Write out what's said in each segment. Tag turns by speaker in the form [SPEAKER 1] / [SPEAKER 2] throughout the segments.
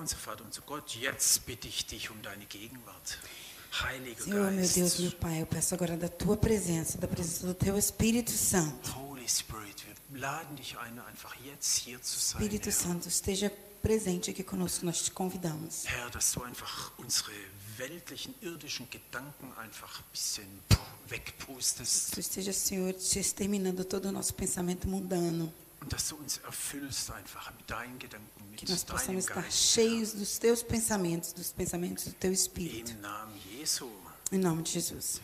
[SPEAKER 1] unser Vater, unser Gott, jetzt bitte ich dich um deine Gegenwart. Heiliger
[SPEAKER 2] Senhor, meu Deus,
[SPEAKER 1] Geist,
[SPEAKER 2] meu Pai, eu peço agora da tua presença, da presença do teu Espírito Santo.
[SPEAKER 1] Holy Spirit, wir laden dich ein, einfach jetzt hier zu sein,
[SPEAKER 2] Espírito
[SPEAKER 1] Herr.
[SPEAKER 2] Santo, esteja presente aqui conosco, nós te convidamos.
[SPEAKER 1] Herr, dass du einfach unsere weltlichen, irdischen Gedanken einfach ein bisschen wegpustest
[SPEAKER 2] Tu esteja, Senhor, exterminando todo o nosso pensamento mundano.
[SPEAKER 1] und dass du uns erfüllst einfach mit deinen Gedanken, mit
[SPEAKER 2] Que nós
[SPEAKER 1] deinem
[SPEAKER 2] possamos estar
[SPEAKER 1] Geist.
[SPEAKER 2] cheios dos teus pensamentos, dos pensamentos do teu Espírito.
[SPEAKER 1] Im Namen Jesu.
[SPEAKER 2] Em nome de Jesus.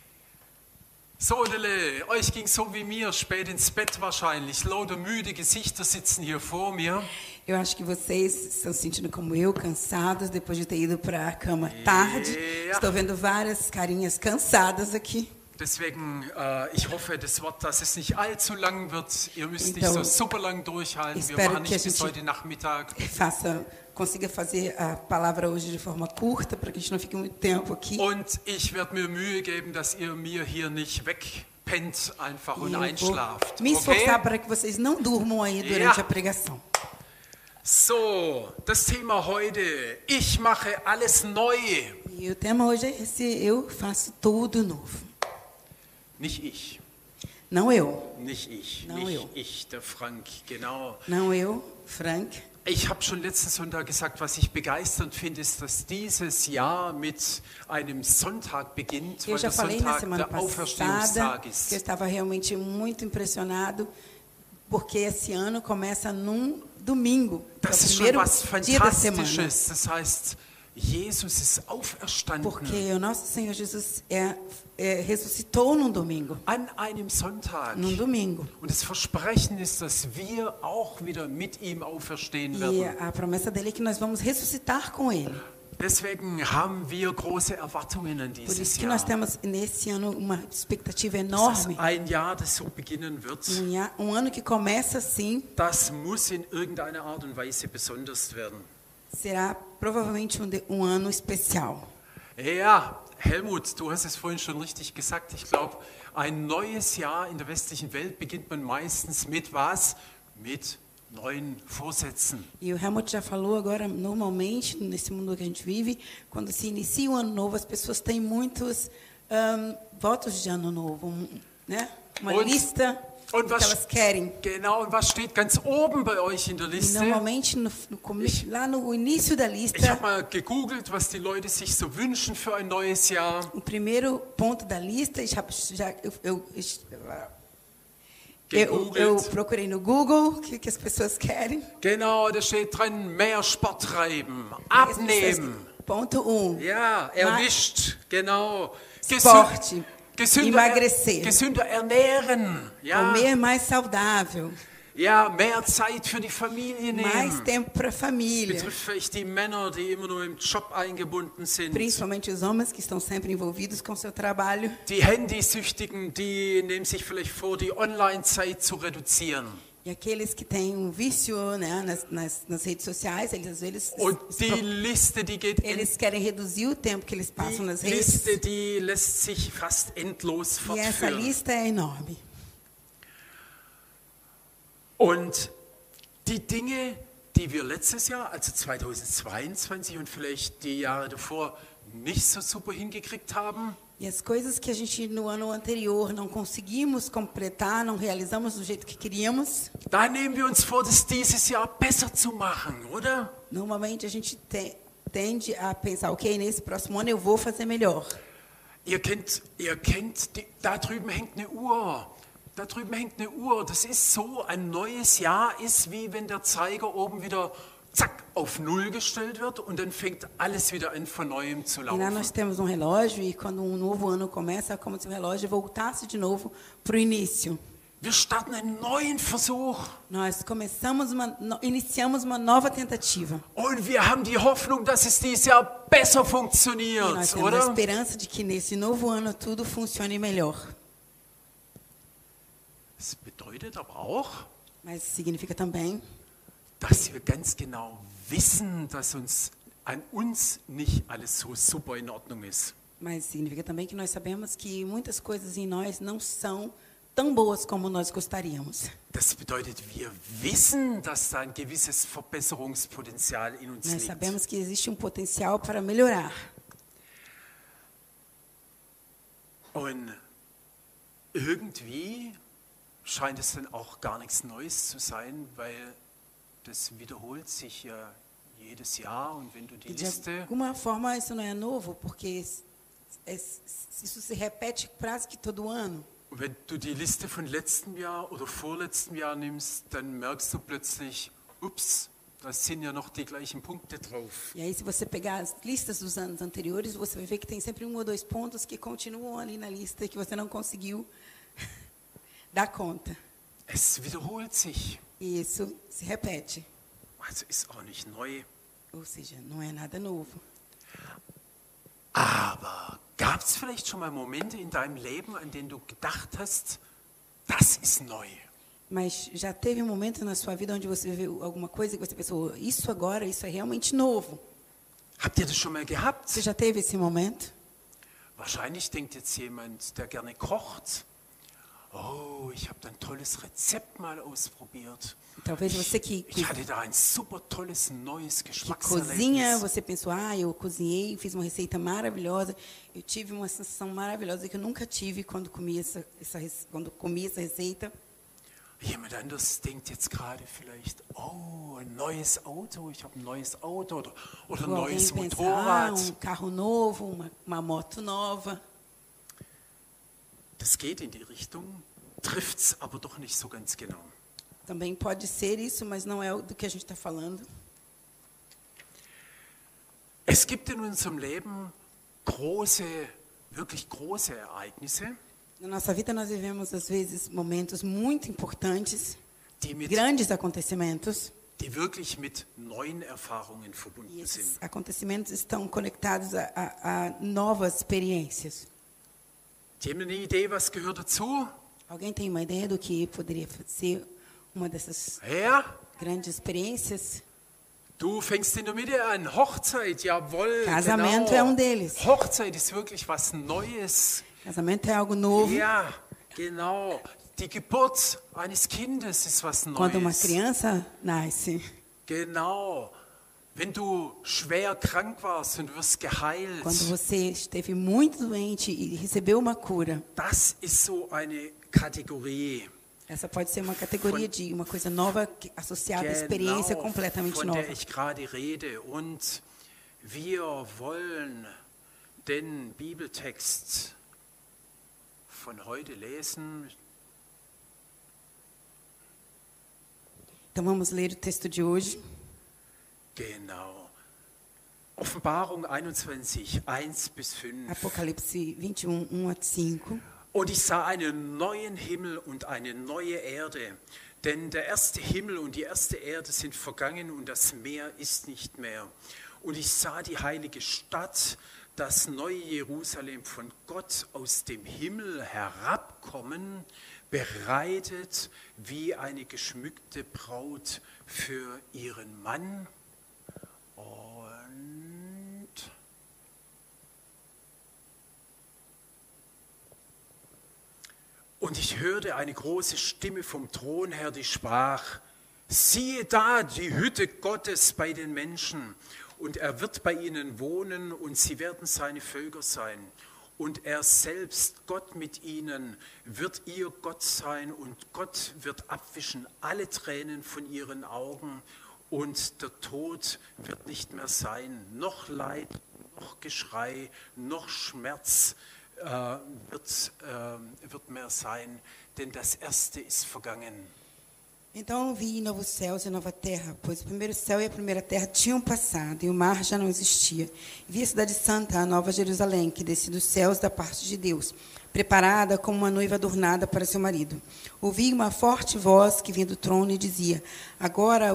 [SPEAKER 1] So, Lille, euch ging so wie mir, spät ins Bett wahrscheinlich. Lauter müde Gesichter sitzen hier vor mir.
[SPEAKER 2] Eu acho que vocês estão se sentindo como eu, cansados, depois de ter ido para a cama tarde.
[SPEAKER 1] Ja.
[SPEAKER 2] Estou vendo várias carinhas cansadas aqui.
[SPEAKER 1] Deswegen, ich hoffe, das Wort, dass es nicht allzu lang wird. Ihr müsst nicht
[SPEAKER 2] Então,
[SPEAKER 1] so super lang durchhalten. Wir
[SPEAKER 2] espero
[SPEAKER 1] machen
[SPEAKER 2] que a
[SPEAKER 1] nicht bis
[SPEAKER 2] gente
[SPEAKER 1] heute Nachmittag.
[SPEAKER 2] Consiga fazer a palavra hoje de forma curta, para que a gente não fique muito tempo aqui.
[SPEAKER 1] Und ich werde mir Mühe geben, dass ihr mir hier nicht wegpennt einfach und
[SPEAKER 2] E eu vou
[SPEAKER 1] einschlaft.
[SPEAKER 2] me esforçar
[SPEAKER 1] Okay?
[SPEAKER 2] para que vocês não durmam aí durante
[SPEAKER 1] Ja.
[SPEAKER 2] a pregação.
[SPEAKER 1] So, das Thema heute. Ich mache alles neu.
[SPEAKER 2] E o tema hoje é esse: eu faço tudo novo.
[SPEAKER 1] Nicht ich.
[SPEAKER 2] Não eu,
[SPEAKER 1] Nicht ich.
[SPEAKER 2] No,
[SPEAKER 1] Nicht
[SPEAKER 2] jo.
[SPEAKER 1] ich, der Frank. Genau.
[SPEAKER 2] não eu, Frank.
[SPEAKER 1] Ich habe schon letzten Sonntag gesagt, was ich begeisternd finde, ist, dass dieses Jahr mit einem Sonntag beginnt,
[SPEAKER 2] Eu
[SPEAKER 1] weil
[SPEAKER 2] já
[SPEAKER 1] der
[SPEAKER 2] falei na
[SPEAKER 1] Sonntag
[SPEAKER 2] semana
[SPEAKER 1] der
[SPEAKER 2] passada
[SPEAKER 1] Auferstehungstag
[SPEAKER 2] que eu
[SPEAKER 1] ist.
[SPEAKER 2] estava realmente muito impressionado, porque esse ano começa num domingo, que é o
[SPEAKER 1] Das ist schon
[SPEAKER 2] primeiro
[SPEAKER 1] was
[SPEAKER 2] dia da semana.
[SPEAKER 1] Fantastisches. Das heißt, Jesus ist auferstanden
[SPEAKER 2] Porque o nosso Senhor Jesus ressuscitou num domingo.
[SPEAKER 1] an einem Sonntag.
[SPEAKER 2] Num domingo.
[SPEAKER 1] Und das Versprechen ist, dass wir auch wieder mit ihm auferstehen
[SPEAKER 2] E
[SPEAKER 1] werden.
[SPEAKER 2] a promessa dele é que nós vamos ressuscitar com ele.
[SPEAKER 1] Deswegen haben wir große Erwartungen an
[SPEAKER 2] Por
[SPEAKER 1] dieses
[SPEAKER 2] isso que nós
[SPEAKER 1] Jahr.
[SPEAKER 2] temos nesse ano uma expectativa
[SPEAKER 1] Das ist
[SPEAKER 2] enorme.
[SPEAKER 1] ein Jahr, das so beginnen wird.
[SPEAKER 2] Ano que começa assim,
[SPEAKER 1] Das muss in irgendeiner Art und Weise besonders werden.
[SPEAKER 2] será provavelmente um ano especial.
[SPEAKER 1] Ja, Helmut, du hast es vorhin schon richtig gesagt. Ich glaube, ein neues Jahr in der westlichen Welt beginnt man meistens mit was? Mit neuen Vorsätzen.
[SPEAKER 2] E o Helmut já falou agora, normalmente, nesse mundo que a gente vive, quando se inicia um ano novo, as pessoas têm muitos votos de ano novo, né? Uma
[SPEAKER 1] Und-
[SPEAKER 2] lista
[SPEAKER 1] und
[SPEAKER 2] do que
[SPEAKER 1] was-
[SPEAKER 2] elas querem.
[SPEAKER 1] Genau, und was steht ganz oben bei euch in der
[SPEAKER 2] E
[SPEAKER 1] Liste?
[SPEAKER 2] normalmente, lá no início da
[SPEAKER 1] Ich
[SPEAKER 2] lista,
[SPEAKER 1] habe mal gegoogelt, was die Leute sich so wünschen für ein neues Jahr.
[SPEAKER 2] o primeiro ponto da lista, eu
[SPEAKER 1] Gegoogelt.
[SPEAKER 2] procurei no Google o que as pessoas querem.
[SPEAKER 1] Genau, da steht drin, mehr Sport treiben, abnehmen.
[SPEAKER 2] Ponto 1.
[SPEAKER 1] Ja, erwischt, genau.
[SPEAKER 2] Esporte, emagrecer.
[SPEAKER 1] Gesünder ernähren, ja.
[SPEAKER 2] Comer mais saudável.
[SPEAKER 1] Ja, mehr Zeit für die Familie
[SPEAKER 2] Mais
[SPEAKER 1] nehmen.
[SPEAKER 2] tempo para a família.
[SPEAKER 1] Betrifft vielleicht die Männer, die immer nur im Job eingebunden sind.
[SPEAKER 2] Principalmente os homens que estão sempre envolvidos com seu trabalho.
[SPEAKER 1] Die Handysüchtigen, die nehmen sich vielleicht vor, die Online-Zeit zu reduzieren.
[SPEAKER 2] E aqueles que têm vício, né, nas redes sociais, eles às vezes
[SPEAKER 1] Und die Liste, die geht
[SPEAKER 2] eles querem reduzir o tempo que eles passam nas redes.
[SPEAKER 1] Liste, die lässt sich fast endlos
[SPEAKER 2] E essa
[SPEAKER 1] fortführen.
[SPEAKER 2] lista é enorme.
[SPEAKER 1] Und die Dinge, die wir letztes Jahr, also 2022 und vielleicht die Jahre davor, nicht so super hingekriegt haben,
[SPEAKER 2] E as coisas que a gente no ano anterior não conseguimos completar, não realizamos do jeito que queríamos,
[SPEAKER 1] da nehmen wir uns vor, das dieses Jahr besser zu machen, oder?
[SPEAKER 2] normalmente a gente tende a pensar, ok, nesse próximo ano eu vou fazer melhor.
[SPEAKER 1] Ihr kennt da drüben hängt eine Uhr. Da drüben hängt eine Uhr. Das ist so, ein neues Jahr ist wie wenn der Zeiger oben wieder zack auf Null gestellt wird und dann fängt alles wieder an von neuem zu
[SPEAKER 2] E lá
[SPEAKER 1] laufen.
[SPEAKER 2] nós temos um relógio e quando um novo ano começa, é como se o relógio voltasse de novo para o início.
[SPEAKER 1] Wir starten einen neuen Versuch
[SPEAKER 2] Nós iniciamos uma nova tentativa.
[SPEAKER 1] und wir haben die Hoffnung, dass es dieses Jahr besser
[SPEAKER 2] E nós
[SPEAKER 1] funktioniert,
[SPEAKER 2] temos a
[SPEAKER 1] oder?
[SPEAKER 2] esperança de que nesse novo ano tudo funcione melhor.
[SPEAKER 1] Das bedeutet aber auch,
[SPEAKER 2] Mas significa também
[SPEAKER 1] dass wir ganz genau wissen, dass an uns nicht alles so super in Ordnung ist.
[SPEAKER 2] Mas significa também que nós sabemos que muitas coisas em nós não são tão boas como nós gostaríamos.
[SPEAKER 1] Das bedeutet, wir wissen, dass da ein gewisses Verbesserungspotenzial in uns
[SPEAKER 2] Nós
[SPEAKER 1] liegt.
[SPEAKER 2] sabemos que existe um potencial para melhorar.
[SPEAKER 1] Und irgendwie scheint es dann auch gar nichts Neues zu sein, weil das wiederholt sich ja jedes Jahr. Und wenn du die
[SPEAKER 2] E de
[SPEAKER 1] Liste,
[SPEAKER 2] alguma forma isso não é novo, porque isso se repete quase que todo ano.
[SPEAKER 1] wenn du die Liste von letztem Jahr oder vorletztem Jahr nimmst, dann merkst du plötzlich, ups, da sind ja noch die gleichen Punkte drauf.
[SPEAKER 2] E aí, se você pegar as listas dos anos anteriores, você vai ver que tem sempre 1 ou 2 pontos que continuam ali na lista e que você não conseguiu dar conta.
[SPEAKER 1] Es wiederholt sich.
[SPEAKER 2] E isso se repete.
[SPEAKER 1] Also ist auch nicht neu.
[SPEAKER 2] Ou seja, não é nada novo.
[SPEAKER 1] Aber gab es vielleicht schon mal Momente in deinem Leben, an denen du gedacht hast, das ist neu?
[SPEAKER 2] Mas já teve um momento na sua vida onde você viu alguma coisa que você pensou, isso agora, isso é realmente novo.
[SPEAKER 1] Habt ihr das schon mal gehabt?
[SPEAKER 2] Você já teve esse momento?
[SPEAKER 1] Wahrscheinlich denkt jetzt jemand, der gerne kocht, oh, ich habe da ein tolles Rezept mal ausprobiert.
[SPEAKER 2] Talvez você que
[SPEAKER 1] Ich hatte da ein super tolles neues
[SPEAKER 2] cozinha,
[SPEAKER 1] Geschmackserlebnis.
[SPEAKER 2] você pensou, eu cozinhei, fiz uma receita maravilhosa, eu tive uma sensação maravilhosa que eu nunca tive quando comi essa receita.
[SPEAKER 1] Jemand anders denkt jetzt gerade vielleicht, oh, ein neues Auto, ich habe ein neues Auto oder ein
[SPEAKER 2] Ou alguém
[SPEAKER 1] neues
[SPEAKER 2] pensa,
[SPEAKER 1] Motorrad.
[SPEAKER 2] carro novo, uma moto nova.
[SPEAKER 1] Das geht in die Richtung, trifft es aber doch nicht so ganz genau.
[SPEAKER 2] Também pode ser isso, mas não é do que a gente está falando.
[SPEAKER 1] Es gibt in unserem Leben wirklich große Ereignisse,
[SPEAKER 2] Na nossa vida nós vivemos às vezes momentos muito importantes,
[SPEAKER 1] die
[SPEAKER 2] grandes acontecimentos,
[SPEAKER 1] wirklich mit neuen Erfahrungen
[SPEAKER 2] e
[SPEAKER 1] verbunden
[SPEAKER 2] esses
[SPEAKER 1] sind.
[SPEAKER 2] acontecimentos estão conectados a novas experiências.
[SPEAKER 1] Die haben eine Idee, was gehört dazu?
[SPEAKER 2] Alguém tem uma ideia do que poderia ser uma dessas
[SPEAKER 1] Ja,
[SPEAKER 2] grandes experiências?
[SPEAKER 1] du fängst in der Mitte an. Hochzeit, jawohl,
[SPEAKER 2] Casamento é
[SPEAKER 1] genau.
[SPEAKER 2] deles.
[SPEAKER 1] Hochzeit ist wirklich was Neues.
[SPEAKER 2] Casamento é algo novo.
[SPEAKER 1] Ja, genau. Die Geburt eines Kindes ist was
[SPEAKER 2] Quando uma
[SPEAKER 1] Neues.
[SPEAKER 2] criança nasce,
[SPEAKER 1] Genau. Wenn du schwer krank warst und wirst geheilt,
[SPEAKER 2] quando você esteve muito doente e recebeu uma cura,
[SPEAKER 1] das ist so eine Kategorie,
[SPEAKER 2] essa pode ser uma categoria de uma coisa nova associada à experiência
[SPEAKER 1] genau,
[SPEAKER 2] completamente
[SPEAKER 1] von
[SPEAKER 2] nova.
[SPEAKER 1] der ich gerade rede. Und wir wollen den Bibeltext von heute lesen.
[SPEAKER 2] Então vamos ler o texto de hoje.
[SPEAKER 1] Genau. Offenbarung 21, 1 bis 5.
[SPEAKER 2] Apocalipse 21, 1 a 5.
[SPEAKER 1] Und ich sah einen neuen Himmel und eine neue Erde, denn der erste Himmel und die erste Erde sind vergangen und das Meer ist nicht mehr. Und ich sah die heilige Stadt, das neue Jerusalem von Gott aus dem Himmel herabkommen, bereitet wie eine geschmückte Braut für ihren Mann. Und ich hörte eine große Stimme vom Thron her, die sprach, siehe da, die Hütte Gottes bei den Menschen, und er wird bei ihnen wohnen, und sie werden seine Völker sein. Und er selbst, Gott mit ihnen, wird ihr Gott sein, und Gott wird abwischen alle Tränen von ihren Augen, und der Tod wird nicht mehr sein, noch Leid, noch Geschrei, noch Schmerz wird mehr sein, denn das Erste ist vergangen.
[SPEAKER 2] Então vi novos céus e nova terra, pois o primeiro céu e a primeira terra tinham passado, e o mar já não existia. Vi a cidade santa, a nova Jerusalém, que descia dos céus da parte de Deus, preparada como uma noiva adornada para seu marido. Ouvi uma forte voz que vinha do trono e dizia, agora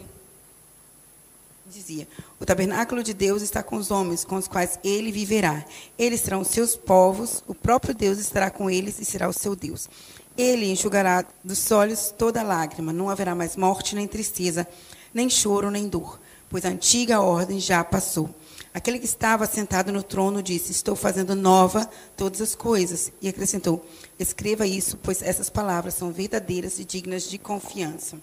[SPEAKER 2] o tabernáculo de Deus está com os homens, com os quais ele viverá. Eles serão os seus povos, o próprio Deus estará com eles e será o seu Deus. Ele enxugará dos olhos toda lágrima, não haverá mais morte, nem tristeza, nem choro, nem dor, pois a antiga ordem já passou. Aquele que estava sentado no trono disse: Estou fazendo nova todas as coisas. E acrescentou: Escreva isso, pois essas palavras são verdadeiras e dignas de confiança.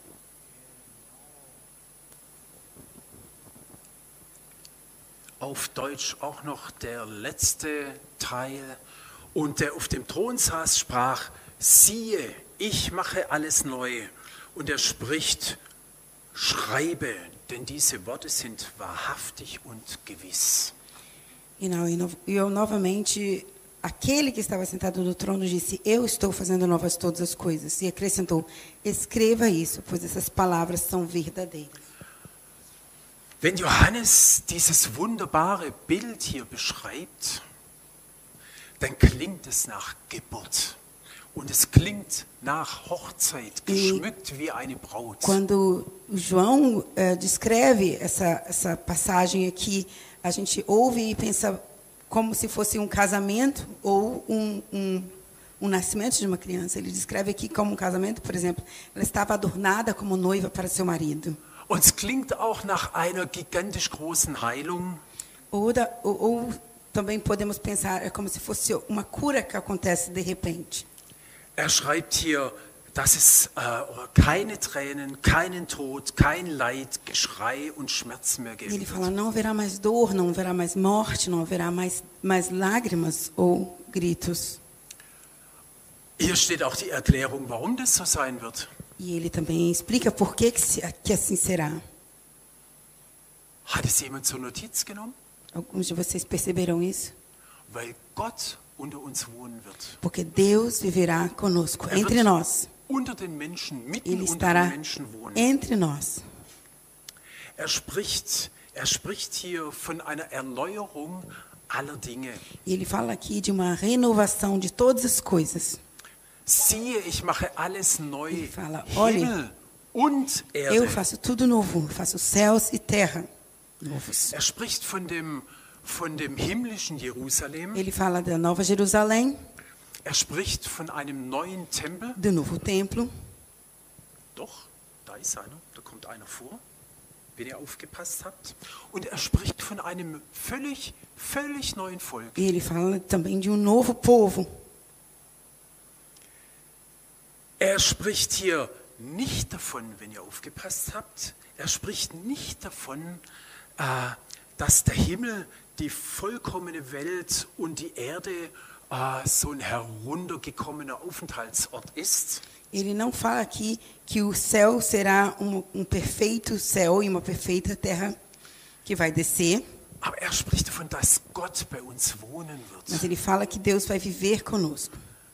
[SPEAKER 1] Auf Deutsch auch noch der letzte Teil. Und der auf dem Thron saß, sprach: Siehe, ich mache alles neu. Und er spricht: Schreibe, denn diese Worte sind wahrhaftig und gewiss.
[SPEAKER 2] E eu novamente, aquele que estava sentado no trono disse: Eu estou fazendo novas todas as coisas. E acrescentou: Escreva isso, pois essas palavras são verdadeiras.
[SPEAKER 1] Wenn Johannes dieses wunderbare Bild hier beschreibt, dann klingt es nach Geburt. Und es klingt nach Hochzeit, geschmückt wie eine Braut.
[SPEAKER 2] Quando João descreve essa passagem aqui, a gente ouve e pensa como se fosse um casamento ou um nascimento de uma criança. Ele descreve aqui como um casamento, por exemplo. Ela estava adornada como noiva para seu marido.
[SPEAKER 1] Und es klingt auch nach einer gigantisch großen Heilung.
[SPEAKER 2] Ou também podemos pensar, é como se fosse uma cura que acontece de repente.
[SPEAKER 1] Er schreibt hier, dass es keine Tränen, keinen Tod, kein Leid, Geschrei und Schmerz mehr geben
[SPEAKER 2] Ele fala:
[SPEAKER 1] wird.
[SPEAKER 2] não haverá mais dor, não haverá mais morte, não haverá mais lágrimas ou gritos.
[SPEAKER 1] Hier steht auch die Erklärung, warum das so sein wird.
[SPEAKER 2] E ele também explica por que assim será.
[SPEAKER 1] Hat es jemand zur Notiz genommen?
[SPEAKER 2] Alguns de vocês perceberam isso?
[SPEAKER 1] Weil Gott unter uns wohnen wird.
[SPEAKER 2] Porque Deus viverá conosco, entre nós.
[SPEAKER 1] Unter den Menschen, mitten
[SPEAKER 2] Ele
[SPEAKER 1] unter
[SPEAKER 2] estará
[SPEAKER 1] den Menschen wohnen.
[SPEAKER 2] entre nós.
[SPEAKER 1] Er spricht hier von einer Erneuerung aller Dinge.
[SPEAKER 2] E ele fala aqui de uma renovação de todas as coisas.
[SPEAKER 1] Siehe, ich mache alles neu.
[SPEAKER 2] Ele fala: olhe,
[SPEAKER 1] Himmel und
[SPEAKER 2] eu
[SPEAKER 1] Erde.
[SPEAKER 2] faço tudo novo, faço céus e terra novos.
[SPEAKER 1] Er spricht von dem himmlischen Jerusalem.
[SPEAKER 2] Ele fala da Nova Jerusalém,
[SPEAKER 1] Er spricht von einem neuen Tempel.
[SPEAKER 2] do novo templo.
[SPEAKER 1] Doch, da ist einer, da kommt einer vor, wenn ihr aufgepasst habt. Und er spricht von einem völlig neuen Volk.
[SPEAKER 2] E ele fala também de um novo povo.
[SPEAKER 1] Er spricht hier nicht davon, wenn ihr aufgepasst habt, er spricht nicht davon, dass der Himmel, die vollkommene Welt und die Erde so ein heruntergekommener Aufenthaltsort ist.
[SPEAKER 2] Ele não fala aqui que o céu será perfeito céu e uma perfeita terra que vai descer.
[SPEAKER 1] Aber er spricht davon, dass Gott bei uns wohnen
[SPEAKER 2] Mas
[SPEAKER 1] wird.
[SPEAKER 2] ele fala que Deus vai viver conosco.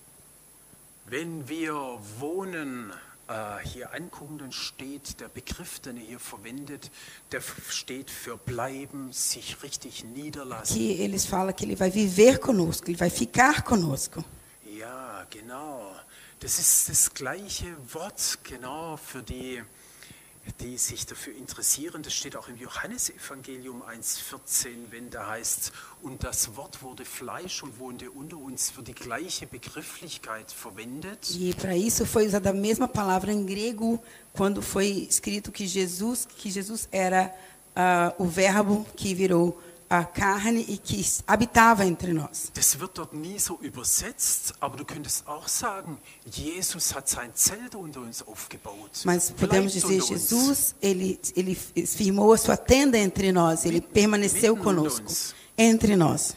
[SPEAKER 1] Wenn wir wohnen hier angucken, dann steht der Begriff, den er hier verwendet, der steht für bleiben, sich richtig niederlassen.
[SPEAKER 2] Que eles falam que ele vai viver conosco, ele vai ficar conosco.
[SPEAKER 1] Ja, genau. Das ist das gleiche Wort, genau, für die sich dafür interessieren. Das steht auch im Johannesevangelium 1,14, wenn da heißt, und das Wort wurde Fleisch und wohnte unter uns, wird die gleiche Begrifflichkeit verwendet.
[SPEAKER 2] E para isso foi usada a mesma palavra em grego quando foi escrito que Jesus era o verbo que virou a carne e que habitava entre nós.
[SPEAKER 1] Das wird dort nie so übersetzt, aber du könntest auch sagen, Jesus hat sein Zelt unter uns aufgebaut.
[SPEAKER 2] Mas podemos
[SPEAKER 1] Bleibt
[SPEAKER 2] dizer,
[SPEAKER 1] unter uns.
[SPEAKER 2] Jesus, ele firmou a sua tenda entre nós, ele permaneceu
[SPEAKER 1] mitten unter
[SPEAKER 2] conosco,
[SPEAKER 1] uns.
[SPEAKER 2] entre nós.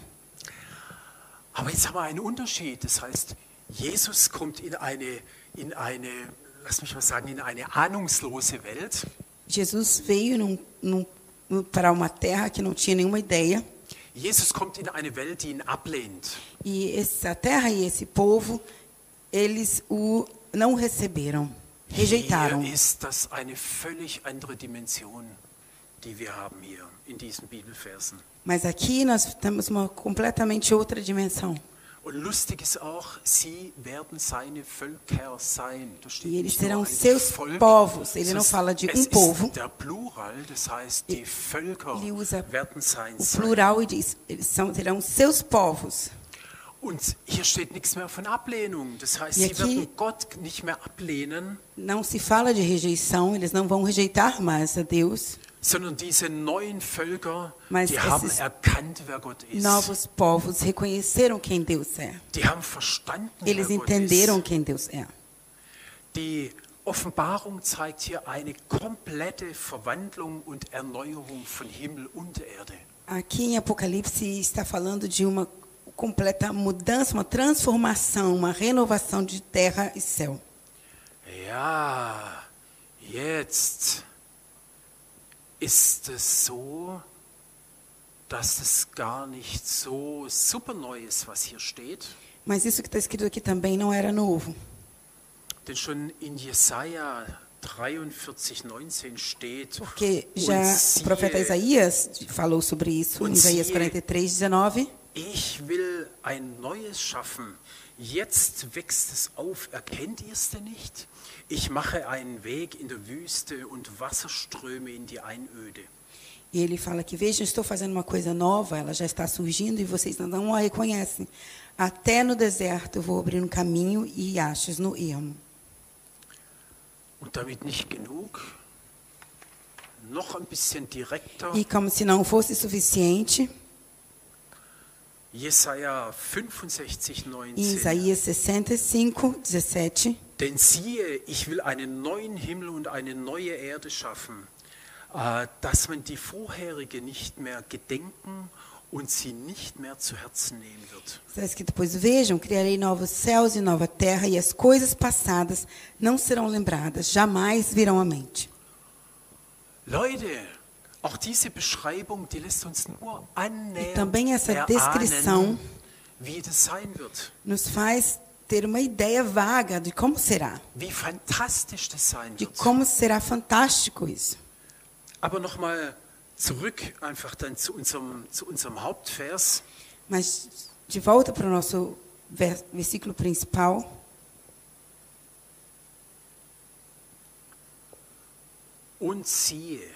[SPEAKER 1] Aber jetzt haben wir einen Unterschied. Das heißt, Jesus kommt in eine, lass mich mal sagen, in eine ahnungslose Welt.
[SPEAKER 2] Jesus veio para uma terra que não tinha nenhuma ideia.
[SPEAKER 1] Jesus kommt in eine Welt, die ihn ablehnt.
[SPEAKER 2] E essa terra e esse povo, eles o não receberam, rejeitaram.
[SPEAKER 1] Hier ist das eine völlig andere Dimension, die wir haben hier in diesen Bibelversen.
[SPEAKER 2] Mas aqui nós temos uma completamente outra dimensão.
[SPEAKER 1] Und lustig ist auch, sie werden seine Völker sein. Da steht
[SPEAKER 2] E eles
[SPEAKER 1] nicht nur
[SPEAKER 2] serão
[SPEAKER 1] ein
[SPEAKER 2] seus
[SPEAKER 1] Volk,
[SPEAKER 2] povos. Ele não
[SPEAKER 1] es
[SPEAKER 2] fala de
[SPEAKER 1] ist
[SPEAKER 2] povo.
[SPEAKER 1] der Plural, das heißt, die Völker
[SPEAKER 2] Ele usa
[SPEAKER 1] werden sein.
[SPEAKER 2] o plural e diz, serão seus povos.
[SPEAKER 1] Und hier steht nichts mehr von Ablehnung. Das heißt,
[SPEAKER 2] E
[SPEAKER 1] sie
[SPEAKER 2] aqui-
[SPEAKER 1] werden Gott nicht mehr ablehnen,
[SPEAKER 2] Não se fala de rejeição, eles não vão rejeitar mais a Deus,
[SPEAKER 1] sondern diese neuen Völker,
[SPEAKER 2] Mas
[SPEAKER 1] die haben
[SPEAKER 2] esses
[SPEAKER 1] erkannt, wer Gott ist.
[SPEAKER 2] Novos povos reconheceram quem Deus é.
[SPEAKER 1] Die haben verstanden,
[SPEAKER 2] Eles
[SPEAKER 1] wer Gott
[SPEAKER 2] entenderam
[SPEAKER 1] ist.
[SPEAKER 2] quem Deus é.
[SPEAKER 1] Die Offenbarung zeigt hier eine komplette Verwandlung und Erneuerung von Himmel und Erde.
[SPEAKER 2] Aqui em Apocalipse está falando de uma completa mudança, uma transformação, uma renovação de terra e céu.
[SPEAKER 1] Ja, jetzt ist es so, dass es gar nicht so super neu ist, was hier steht.
[SPEAKER 2] Mas isso que está escrito aqui também não era novo.
[SPEAKER 1] Denn schon in Jesaja 43,19 steht,
[SPEAKER 2] Porque
[SPEAKER 1] und
[SPEAKER 2] já o profeta
[SPEAKER 1] siehe,
[SPEAKER 2] Isaías falou sobre isso em
[SPEAKER 1] Und
[SPEAKER 2] Isaías
[SPEAKER 1] siehe,
[SPEAKER 2] 43:19.
[SPEAKER 1] ich will ein Neues schaffen. Jetzt wächst es auf. Erkennt ihr es denn nicht? Ich mache einen Weg in der Wüste und Wasserströme in die Einöde.
[SPEAKER 2] E ele fala que, vejam, estou fazendo uma coisa nova, ela já está surgindo e vocês não a reconhecem. Até no deserto eu vou abrir um caminho e riachos no ermo.
[SPEAKER 1] Und damit nicht genug, noch ein bisschen direkter,
[SPEAKER 2] E como se não fosse suficiente,
[SPEAKER 1] Jesaja
[SPEAKER 2] em
[SPEAKER 1] 65,19.
[SPEAKER 2] Isaías 65:17,
[SPEAKER 1] Denn siehe, ich will einen neuen Himmel und eine neue Erde schaffen, dass man die vorherige nicht mehr gedenken und sie nicht mehr zu Herzen nehmen wird.
[SPEAKER 2] está escrito, pois vejam, criarei novos céus e nova terra, e as coisas passadas não serão lembradas, jamais virão à mente.
[SPEAKER 1] Leute, auch diese Beschreibung, die lässt uns nur
[SPEAKER 2] E também
[SPEAKER 1] annähernd
[SPEAKER 2] essa descrição
[SPEAKER 1] erahnen, wie das sein wird,
[SPEAKER 2] nos faz ter uma ideia vaga de como será,
[SPEAKER 1] wie fantastisch das sein
[SPEAKER 2] de
[SPEAKER 1] wird.
[SPEAKER 2] como será fantástico isso.
[SPEAKER 1] Aber nochmal zurück einfach dann zu unserem Hauptvers.
[SPEAKER 2] Mas de volta para o nosso versículo principal.
[SPEAKER 1] Und siehe,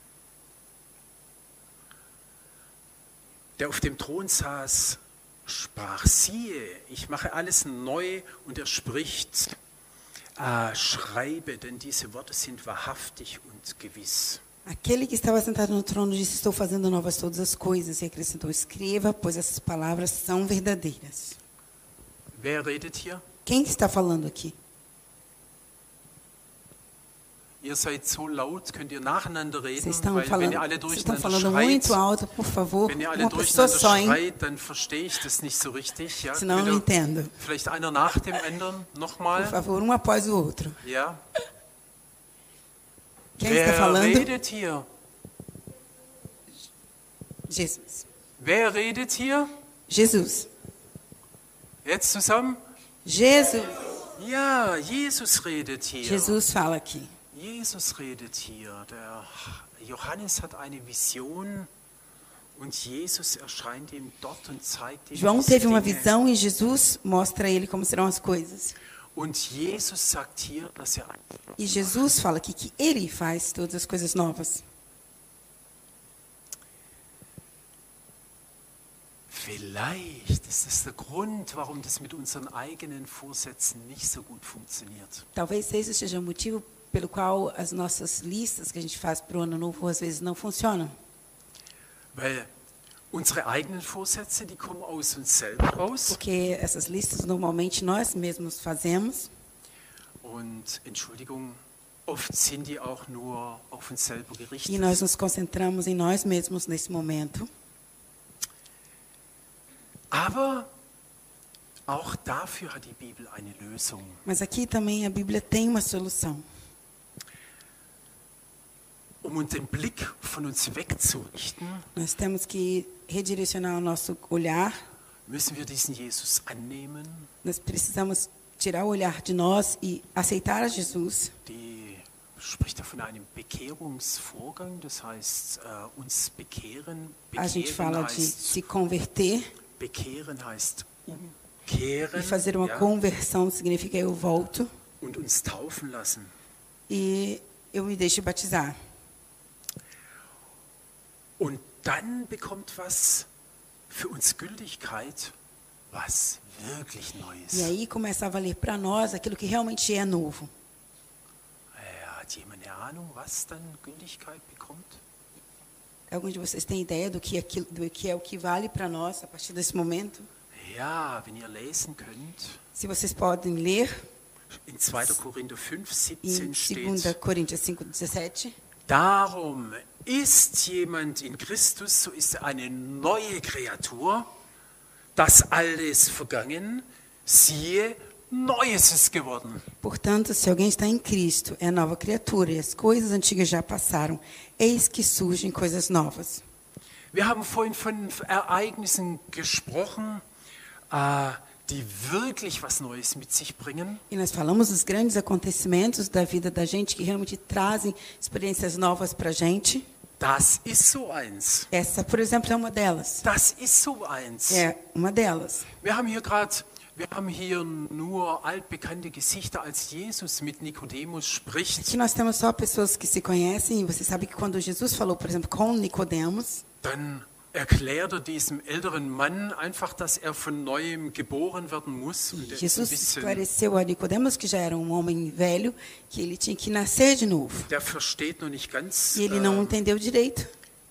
[SPEAKER 1] der auf dem Thron saß, sprach, siehe, ich mache alles neu, und er spricht, schreibe, denn diese Worte sind wahrhaftig und gewiss.
[SPEAKER 2] Aquele que estava sentado no trono disse, estou fazendo novas todas as coisas. E acrescentou, escreva, pois essas palavras são verdadeiras.
[SPEAKER 1] Wer redet hier?
[SPEAKER 2] Quem está falando aqui?
[SPEAKER 1] Ihr seid so laut, könnt ihr nacheinander reden,
[SPEAKER 2] Vocês estão
[SPEAKER 1] weil wenn
[SPEAKER 2] falando,
[SPEAKER 1] ihr alle
[SPEAKER 2] vocês estão
[SPEAKER 1] durcheinander
[SPEAKER 2] falando
[SPEAKER 1] schreit,
[SPEAKER 2] muito alto, por favor.
[SPEAKER 1] wenn ihr alle
[SPEAKER 2] Uma pessoa
[SPEAKER 1] durcheinander
[SPEAKER 2] só, hein?
[SPEAKER 1] schreit, dann verstehe ich das nicht so richtig. Ja?
[SPEAKER 2] Senão eu não entendo.
[SPEAKER 1] Vielleicht einer nach dem anderen,
[SPEAKER 2] Por
[SPEAKER 1] nochmal.
[SPEAKER 2] favor, um após o outro.
[SPEAKER 1] Ja.
[SPEAKER 2] Quem está
[SPEAKER 1] Wer
[SPEAKER 2] falando?
[SPEAKER 1] redet hier?
[SPEAKER 2] Jesus.
[SPEAKER 1] Wer redet hier?
[SPEAKER 2] Jesus.
[SPEAKER 1] Jetzt zusammen?
[SPEAKER 2] Jesus.
[SPEAKER 1] Ja, Jesus redet hier.
[SPEAKER 2] Jesus fala aqui.
[SPEAKER 1] Jesus redet hier. Der Johannes hat eine Vision und Jesus erscheint ihm dort und zeigt ihm
[SPEAKER 2] João
[SPEAKER 1] diese
[SPEAKER 2] teve uma
[SPEAKER 1] Dinge.
[SPEAKER 2] visão e Jesus mostra a ele como serão as coisas.
[SPEAKER 1] Und Jesus sagt hier, dass er
[SPEAKER 2] E Jesus fala aqui que ele faz todas as coisas novas.
[SPEAKER 1] vielleicht ist das der Grund, warum das mit unseren eigenen Vorsätzen nicht so gut funktioniert.
[SPEAKER 2] Talvez esse seja o motivo pelo qual as nossas listas que a gente faz para o ano novo às vezes não funcionam.
[SPEAKER 1] Weil unsere eigenen Vorsätze, die kommen aus uns selber raus.
[SPEAKER 2] Porque essas listas normalmente nós mesmos fazemos.
[SPEAKER 1] Und Entschuldigung, oft sind die auch nur auf uns selber
[SPEAKER 2] E
[SPEAKER 1] gerichtet.
[SPEAKER 2] nós nos concentramos em nós mesmos nesse momento.
[SPEAKER 1] Aber auch dafür hat die Bibel eine Lösung.
[SPEAKER 2] Mas aqui também a Bíblia tem uma solução.
[SPEAKER 1] Um den Blick von uns wegzurichten,
[SPEAKER 2] Nós temos que redirecionar o nosso olhar.
[SPEAKER 1] müssen wir diesen Jesus annehmen.
[SPEAKER 2] Nós precisamos tirar o olhar de nós e aceitar a Jesus.
[SPEAKER 1] Die spricht da von einem Bekehrungsvorgang, das heißt uns bekehren.
[SPEAKER 2] A gente fala de
[SPEAKER 1] heißt,
[SPEAKER 2] se converter.
[SPEAKER 1] bekehren heißt umkehren,
[SPEAKER 2] E fazer uma
[SPEAKER 1] ja,
[SPEAKER 2] conversão significa eu volto
[SPEAKER 1] und uns taufen lassen.
[SPEAKER 2] e eu me deixo batizar.
[SPEAKER 1] Und dann bekommt was für uns Gültigkeit, was wirklich neu ist.
[SPEAKER 2] E aí começa a valer para nós aquilo que realmente é novo.
[SPEAKER 1] Hat jemand eine Ahnung, was dann Gültigkeit bekommt?
[SPEAKER 2] Alguns de vocês têm ideia do que é o que vale para nós a partir desse momento?
[SPEAKER 1] Ja, wenn ihr lesen könnt,
[SPEAKER 2] Se vocês podem ler
[SPEAKER 1] in 2. Korinther 5,
[SPEAKER 2] em
[SPEAKER 1] 17
[SPEAKER 2] 2
[SPEAKER 1] steht,
[SPEAKER 2] Coríntios 5:17,
[SPEAKER 1] darum ist jemand in Christus, so ist er eine neue Kreatur, das Alte ist vergangen, siehe, Neues ist geworden.
[SPEAKER 2] portanto, se alguém está em Cristo, é nova criatura, e as coisas antigas já passaram, eis que surgem coisas novas.
[SPEAKER 1] Wir haben vorhin von Ereignissen gesprochen, die wirklich was Neues mit sich bringen.
[SPEAKER 2] E nós falamos dos grandes acontecimentos da vida da gente que realmente trazem experiências novas para a gente.
[SPEAKER 1] Das ist so eins.
[SPEAKER 2] Essa, por exemplo, é uma delas.
[SPEAKER 1] Das ist so eins.
[SPEAKER 2] É uma delas.
[SPEAKER 1] Wir haben hier nur altbekannte Gesichter, als Jesus mit Nikodemus spricht.
[SPEAKER 2] Aqui nós temos só pessoas que se conhecem, e você sabe que quando Jesus falou, por exemplo, com Nicodemos,
[SPEAKER 1] Dann erklärt diesem älteren Mann einfach, dass er von Neuem geboren werden muss. Und der ist ein
[SPEAKER 2] Jesus
[SPEAKER 1] bisschen,
[SPEAKER 2] esclareceu a Nicodemos, que já era um homem velho, que ele tinha que nascer de novo.
[SPEAKER 1] der versteht noch nicht ganz,
[SPEAKER 2] E ele não entendeu direito.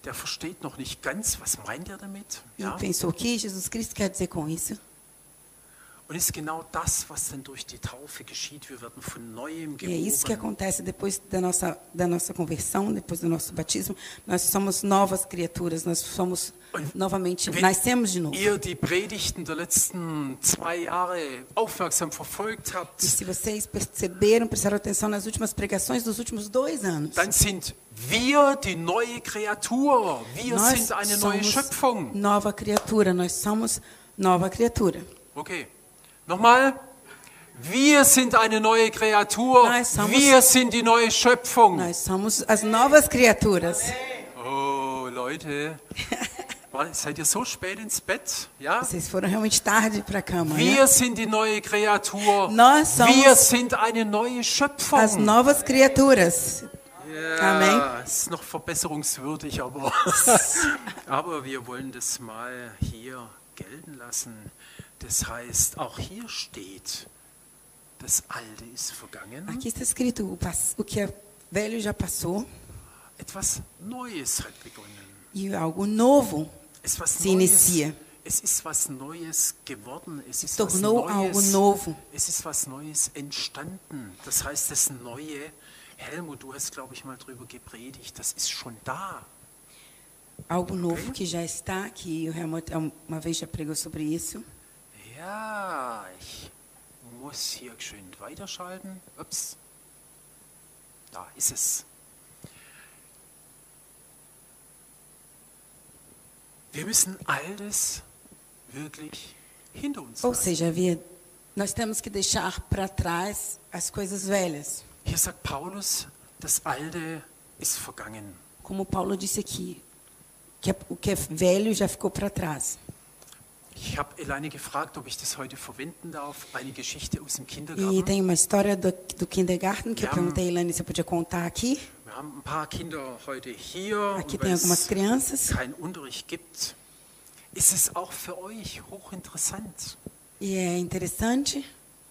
[SPEAKER 1] was meint er damit.
[SPEAKER 2] E
[SPEAKER 1] Ja?
[SPEAKER 2] pensou o que Jesus Cristo quer dizer com isso.
[SPEAKER 1] Und es ist genau das, was dann durch die Taufe geschieht. Wir werden von Neuem
[SPEAKER 2] E é isso que
[SPEAKER 1] geboren.
[SPEAKER 2] acontece depois da nossa conversão, depois do nosso batismo. Nós somos novas criaturas, nós somos novamente, nascemos de novo.
[SPEAKER 1] Ihr die Predigten der letzten 2 Jahre aufmerksam verfolgt habt,
[SPEAKER 2] E se vocês prestaram atenção nas últimas pregações dos últimos 2 anos,
[SPEAKER 1] dann sind wir die neue Kreatur. Wir
[SPEAKER 2] nós
[SPEAKER 1] sind eine neue
[SPEAKER 2] somos
[SPEAKER 1] Schöpfung.
[SPEAKER 2] nova criatura, nós somos nova criatura.
[SPEAKER 1] Okay, nochmal. Wir sind eine neue Kreatur.
[SPEAKER 2] Nós somos-
[SPEAKER 1] Wir sind die neue Schöpfung.
[SPEAKER 2] Nós somos as novas criaturas.
[SPEAKER 1] Oh, Leute. Seid ihr so spät ins Bett? Ja?
[SPEAKER 2] Vocês foram realmente tarde para a cama, né?
[SPEAKER 1] Wir sind die neue Kreatur.
[SPEAKER 2] Nós somos
[SPEAKER 1] Wir sind eine neue Schöpfung.
[SPEAKER 2] as novas criaturas.
[SPEAKER 1] Ja,
[SPEAKER 2] Amen.
[SPEAKER 1] es ist noch verbesserungswürdig, aber, aber wir wollen das mal hier gelten lassen. Das heißt, auch hier steht, das Alte ist vergangen,
[SPEAKER 2] Aqui está escrito, o que é velho já passou
[SPEAKER 1] etwas Neues hat begonnen.
[SPEAKER 2] e algo novo
[SPEAKER 1] Es
[SPEAKER 2] se inicia.
[SPEAKER 1] Es ist was Neues geworden. Es ist
[SPEAKER 2] Tornou
[SPEAKER 1] was
[SPEAKER 2] algo
[SPEAKER 1] Neues.
[SPEAKER 2] novo.
[SPEAKER 1] Es ist was Neues entstanden. Das heißt, das Neue, Helmut, du hast, glaube ich, mal drüber gepredigt, das ist schon da.
[SPEAKER 2] Algo novo que já está aqui. O Helmut uma vez já pregou sobre isso.
[SPEAKER 1] Ja, ich muss hier geschwind weiterschalten. Ups. Da ist es. Wir müssen alles wirklich hinter uns
[SPEAKER 2] Ou
[SPEAKER 1] lassen.
[SPEAKER 2] seja, nós temos que deixar para trás as coisas velhas.
[SPEAKER 1] Hier sagt Paulus, das Alte ist vergangen.
[SPEAKER 2] Como Paulo disse aqui, o que é velho já ficou para trás.
[SPEAKER 1] Ich habe Elaine gefragt, ob ich das heute verwenden darf, eine Geschichte aus dem
[SPEAKER 2] E
[SPEAKER 1] Kindergarten.
[SPEAKER 2] tem uma história do kindergarten que eu
[SPEAKER 1] Ja.
[SPEAKER 2] perguntei a Elaine se eu podia contar aqui.
[SPEAKER 1] Wir haben ein paar Kinder heute hier,
[SPEAKER 2] Aqui
[SPEAKER 1] und
[SPEAKER 2] tem
[SPEAKER 1] weil
[SPEAKER 2] algumas
[SPEAKER 1] es
[SPEAKER 2] crianças.
[SPEAKER 1] keinen Unterricht gibt, ist es auch für euch hochinteressant.
[SPEAKER 2] E é interessante.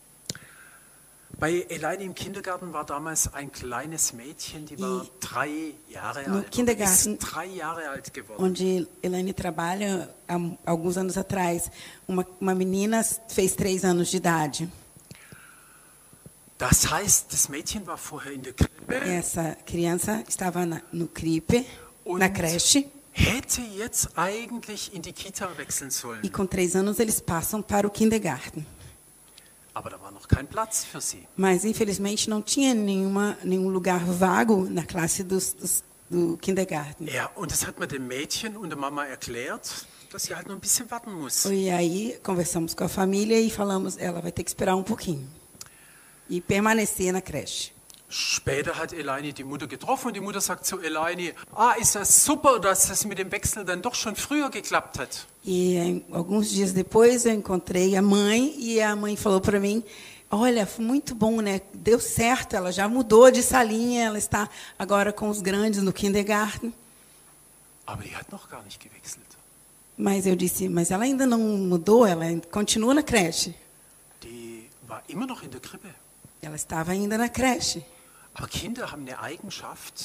[SPEAKER 1] Bei Elaine im Kindergarten war damals ein kleines Mädchen, die war 3 Jahre
[SPEAKER 2] No
[SPEAKER 1] alt. Oder
[SPEAKER 2] Kindergarten-
[SPEAKER 1] ist 3 Jahre alt geworden.
[SPEAKER 2] Onde Elaine trabalha há alguns anos atrás. Uma menina fez 3 anos de idade.
[SPEAKER 1] Das heißt, das Mädchen war vorher in der Krippe.
[SPEAKER 2] Essa criança estava no CRIP, na
[SPEAKER 1] Und
[SPEAKER 2] creche,
[SPEAKER 1] hätte jetzt eigentlich in die Kita wechseln sollen.
[SPEAKER 2] e com 3 anos eles passam para o kindergarten.
[SPEAKER 1] Aber da war noch kein Platz für sie.
[SPEAKER 2] Mas, infelizmente, não tinha nenhum lugar vago na classe do kindergarten.
[SPEAKER 1] Ja, und das hat man dem Mädchen und der Mama erklärt, dass sie halt noch ein bisschen warten muss.
[SPEAKER 2] E aí conversamos com a família e falamos, ela vai ter que esperar um pouquinho. E permanecer na creche.
[SPEAKER 1] Später hat Elaine die Mutter getroffen und die Mutter sagt zu Elaine, ist das super, dass das mit dem Wechsel dann doch schon früher geklappt hat.
[SPEAKER 2] E alguns dias depois eu encontrei a mãe e a mãe falou para mim, olha, foi muito bom, né? Deu certo, ela já mudou de salinha, ela está agora com os grandes no kindergarten.
[SPEAKER 1] Aber die hat noch gar nicht gewechselt.
[SPEAKER 2] Mas eu disse, mas ela ainda não mudou, ela continua na creche.
[SPEAKER 1] Die war immer noch in der Krippe.
[SPEAKER 2] Ela estava ainda na creche.
[SPEAKER 1] Aber Kinder haben eine Eigenschaft,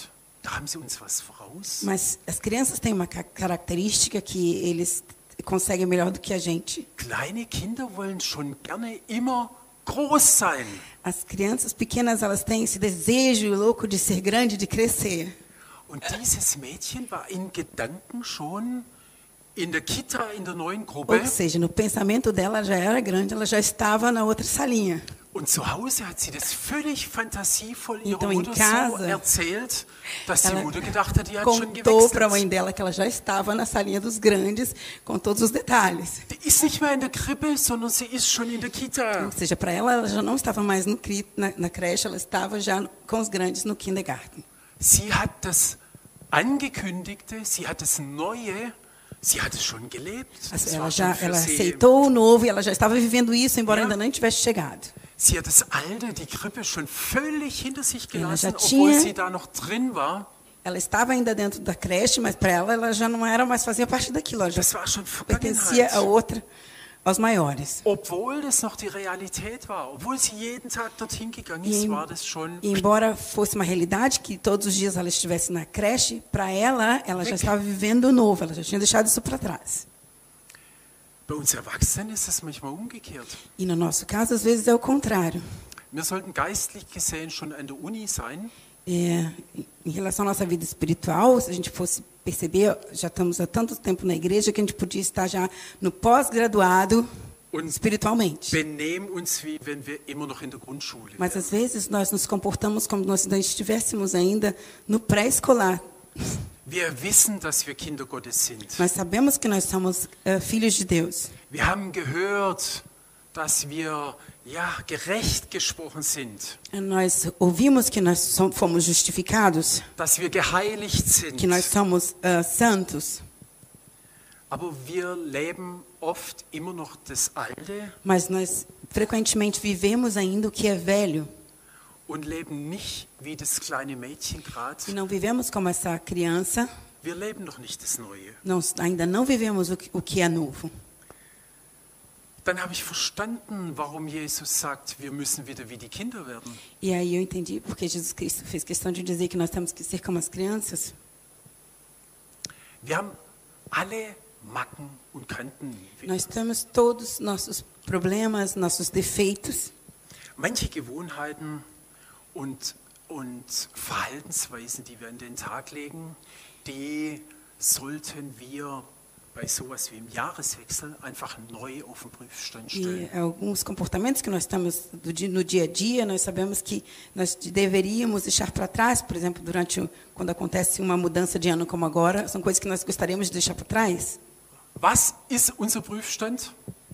[SPEAKER 1] Da haben sie uns was voraus.
[SPEAKER 2] Mas as crianças têm uma característica que eles conseguem melhor do que a gente.
[SPEAKER 1] Kleine Kinder wollen schon gerne immer groß sein.
[SPEAKER 2] As crianças pequenas, elas têm esse desejo louco de ser grande, de crescer.
[SPEAKER 1] Und dieses Mädchen war in Gedanken schon in der Kita, in der neuen Gruppe.
[SPEAKER 2] Ou seja, no pensamento dela já era grande, ela já estava na outra salinha.
[SPEAKER 1] Und zu Hause hat sie das völlig fantasievoll ihrer
[SPEAKER 2] Então, em
[SPEAKER 1] Mutter so
[SPEAKER 2] casa,
[SPEAKER 1] erzählt, dass die
[SPEAKER 2] ela
[SPEAKER 1] Mutter gedacht hat, die hat schon
[SPEAKER 2] contou para a mãe
[SPEAKER 1] gewechselt.
[SPEAKER 2] dela que ela já estava na salinha dos grandes, com todos os detalhes.
[SPEAKER 1] Die ist nicht mehr in der Krippe, sondern sie ist schon in der Kita.
[SPEAKER 2] Ou seja, para ela já não estava mais na creche, ela estava já com os grandes no kindergarten.
[SPEAKER 1] Sie hat das Angekündigte, sie hat das Neue, sie hat es schon gelebt. Das
[SPEAKER 2] Ela
[SPEAKER 1] war
[SPEAKER 2] já
[SPEAKER 1] schon für
[SPEAKER 2] ela
[SPEAKER 1] sie.
[SPEAKER 2] aceitou o novo e ela já estava vivendo isso, embora
[SPEAKER 1] Ja.
[SPEAKER 2] ainda não tivesse chegado.
[SPEAKER 1] Sie hat das Alte, die Krippe, schon völlig hinter sich
[SPEAKER 2] Ela já
[SPEAKER 1] gelassen, obwohl
[SPEAKER 2] tinha-
[SPEAKER 1] sie da noch drin war.
[SPEAKER 2] Ela estava ainda dentro da creche, mas para ela já não era mais fazia parte daquilo, ela já
[SPEAKER 1] Das war schon
[SPEAKER 2] pertencia a
[SPEAKER 1] Vergangenheit.
[SPEAKER 2] outra, aos maiores.
[SPEAKER 1] Obwohl das noch die Realität war, obwohl sie jeden Tag dorthin gegangen ist, war das schon.
[SPEAKER 2] E embora fosse uma realidade que todos os dias ela estivesse na creche, para ela já estava vivendo o novo, ela já tinha deixado isso para trás.
[SPEAKER 1] Bei uns Erwachsenen ist das manchmal umgekehrt.
[SPEAKER 2] E no nosso caso, às vezes é o contrário.
[SPEAKER 1] Wir sollten geistlich gesehen schon an der Uni sein,
[SPEAKER 2] Em relação à nossa vida espiritual, se a gente fosse perceber, já estamos há tanto tempo na igreja que a gente podia estar já no pós-graduado
[SPEAKER 1] und
[SPEAKER 2] espiritualmente.
[SPEAKER 1] benehmen uns, wie wenn wir immer noch in der Grundschule
[SPEAKER 2] Mas
[SPEAKER 1] wären.
[SPEAKER 2] às vezes nós nos comportamos como nós ainda estivéssemos ainda no pré-escolar.
[SPEAKER 1] Wir wissen, dass wir Kinder Gottes sind.
[SPEAKER 2] Nós sabemos que nós somos filhos de Deus.
[SPEAKER 1] Wir haben gehört, dass wir gerecht gesprochen sind,
[SPEAKER 2] Nós ouvimos que nós fomos justificados,
[SPEAKER 1] dass wir geheiligt sind.
[SPEAKER 2] que nós somos santos.
[SPEAKER 1] Aber wir leben oft immer noch das Alte
[SPEAKER 2] Mas nós frequentemente vivemos ainda o que é velho.
[SPEAKER 1] und leben nicht wie das kleine Mädchen gerade.
[SPEAKER 2] E não vivemos como essa criança.
[SPEAKER 1] Wir leben noch nicht das Neue.
[SPEAKER 2] Ainda não vivemos o que é novo.
[SPEAKER 1] Dann habe ich verstanden, warum Jesus sagt, wir müssen wieder wie die Kinder werden.
[SPEAKER 2] E aí eu entendi porque Jesus Cristo fez questão de dizer que nós temos que ser como as crianças.
[SPEAKER 1] Wir haben alle Macken und Kanten.
[SPEAKER 2] Nós temos todos nossos problemas, nossos defeitos.
[SPEAKER 1] Manche Gewohnheiten und Verhaltensweisen, die wir an den Tag legen, die sollten wir bei sowas wie im Jahreswechsel einfach neu auf den Prüfstand stellen.
[SPEAKER 2] E alguns comportamentos que nós temos no dia a dia, nós sabemos que nós deveríamos deixar para trás, por exemplo, quando acontece uma mudança de ano como agora, são coisas que nós gostaríamos de deixar para trás.
[SPEAKER 1] Was ist unser Prüfstand?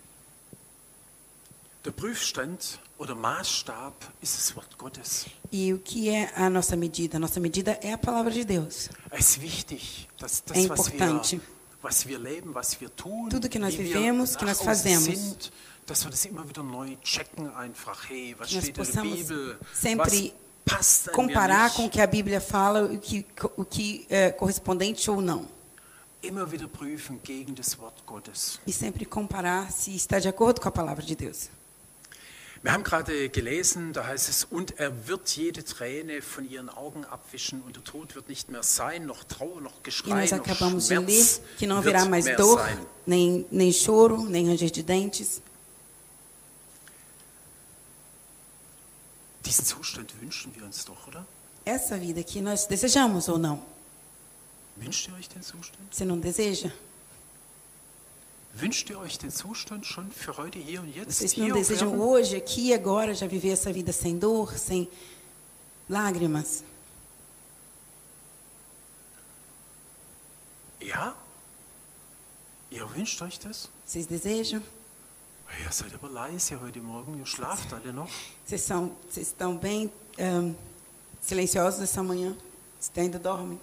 [SPEAKER 1] Der Prüfstand oder Maßstab ist das Wort Gottes.
[SPEAKER 2] E o que é a nossa medida? A nossa medida é a palavra de Deus.
[SPEAKER 1] Es ist wichtig, dass das,
[SPEAKER 2] É importante.
[SPEAKER 1] was wir leben, was wir tun,
[SPEAKER 2] Tudo que nós
[SPEAKER 1] wie
[SPEAKER 2] vivemos,
[SPEAKER 1] wir
[SPEAKER 2] que nós
[SPEAKER 1] nach außen
[SPEAKER 2] fazemos.
[SPEAKER 1] sind, dass wir das immer wieder neu checken einfach. Hey, was
[SPEAKER 2] Que nós
[SPEAKER 1] steht in der
[SPEAKER 2] possamos
[SPEAKER 1] Bibel?
[SPEAKER 2] sempre
[SPEAKER 1] Was passt an mir
[SPEAKER 2] comparar com o
[SPEAKER 1] nicht?
[SPEAKER 2] que a Bíblia fala, o que é correspondente ou não.
[SPEAKER 1] Immer wieder prüfen gegen das Wort Gottes.
[SPEAKER 2] E sempre comparar se está de acordo com a palavra de Deus.
[SPEAKER 1] Wir haben gerade gelesen, da heißt es, und er wird jede Träne von ihren Augen abwischen und der Tod wird nicht mehr sein, noch Trauer, noch
[SPEAKER 2] E
[SPEAKER 1] Geschrei,
[SPEAKER 2] nós
[SPEAKER 1] noch
[SPEAKER 2] acabamos de ler
[SPEAKER 1] Schmerz
[SPEAKER 2] que não haverá
[SPEAKER 1] wird
[SPEAKER 2] mais
[SPEAKER 1] mehr
[SPEAKER 2] dor,
[SPEAKER 1] sein.
[SPEAKER 2] nem choro, nem ranger de dentes.
[SPEAKER 1] Diesen Zustand wünschen wir uns doch, oder?
[SPEAKER 2] Essa vida que nós desejamos ou não?
[SPEAKER 1] Wünscht ihr euch den Zustand?
[SPEAKER 2] Você não deseja?
[SPEAKER 1] Wünscht ihr euch den Zustand schon für heute, hier und jetzt?
[SPEAKER 2] Vocês
[SPEAKER 1] Hier
[SPEAKER 2] não
[SPEAKER 1] auf
[SPEAKER 2] desejam
[SPEAKER 1] Erden?
[SPEAKER 2] hoje, aqui e agora, já viver essa vida sem dor, sem lágrimas?
[SPEAKER 1] Ja? Ihr wünscht euch das?
[SPEAKER 2] Vocês desejam?
[SPEAKER 1] Ihr seid aber leise heute Morgen, ihr schlaft alle noch.
[SPEAKER 2] Vocês estão bem silenciosos essa manhã? Vocês ainda dormem?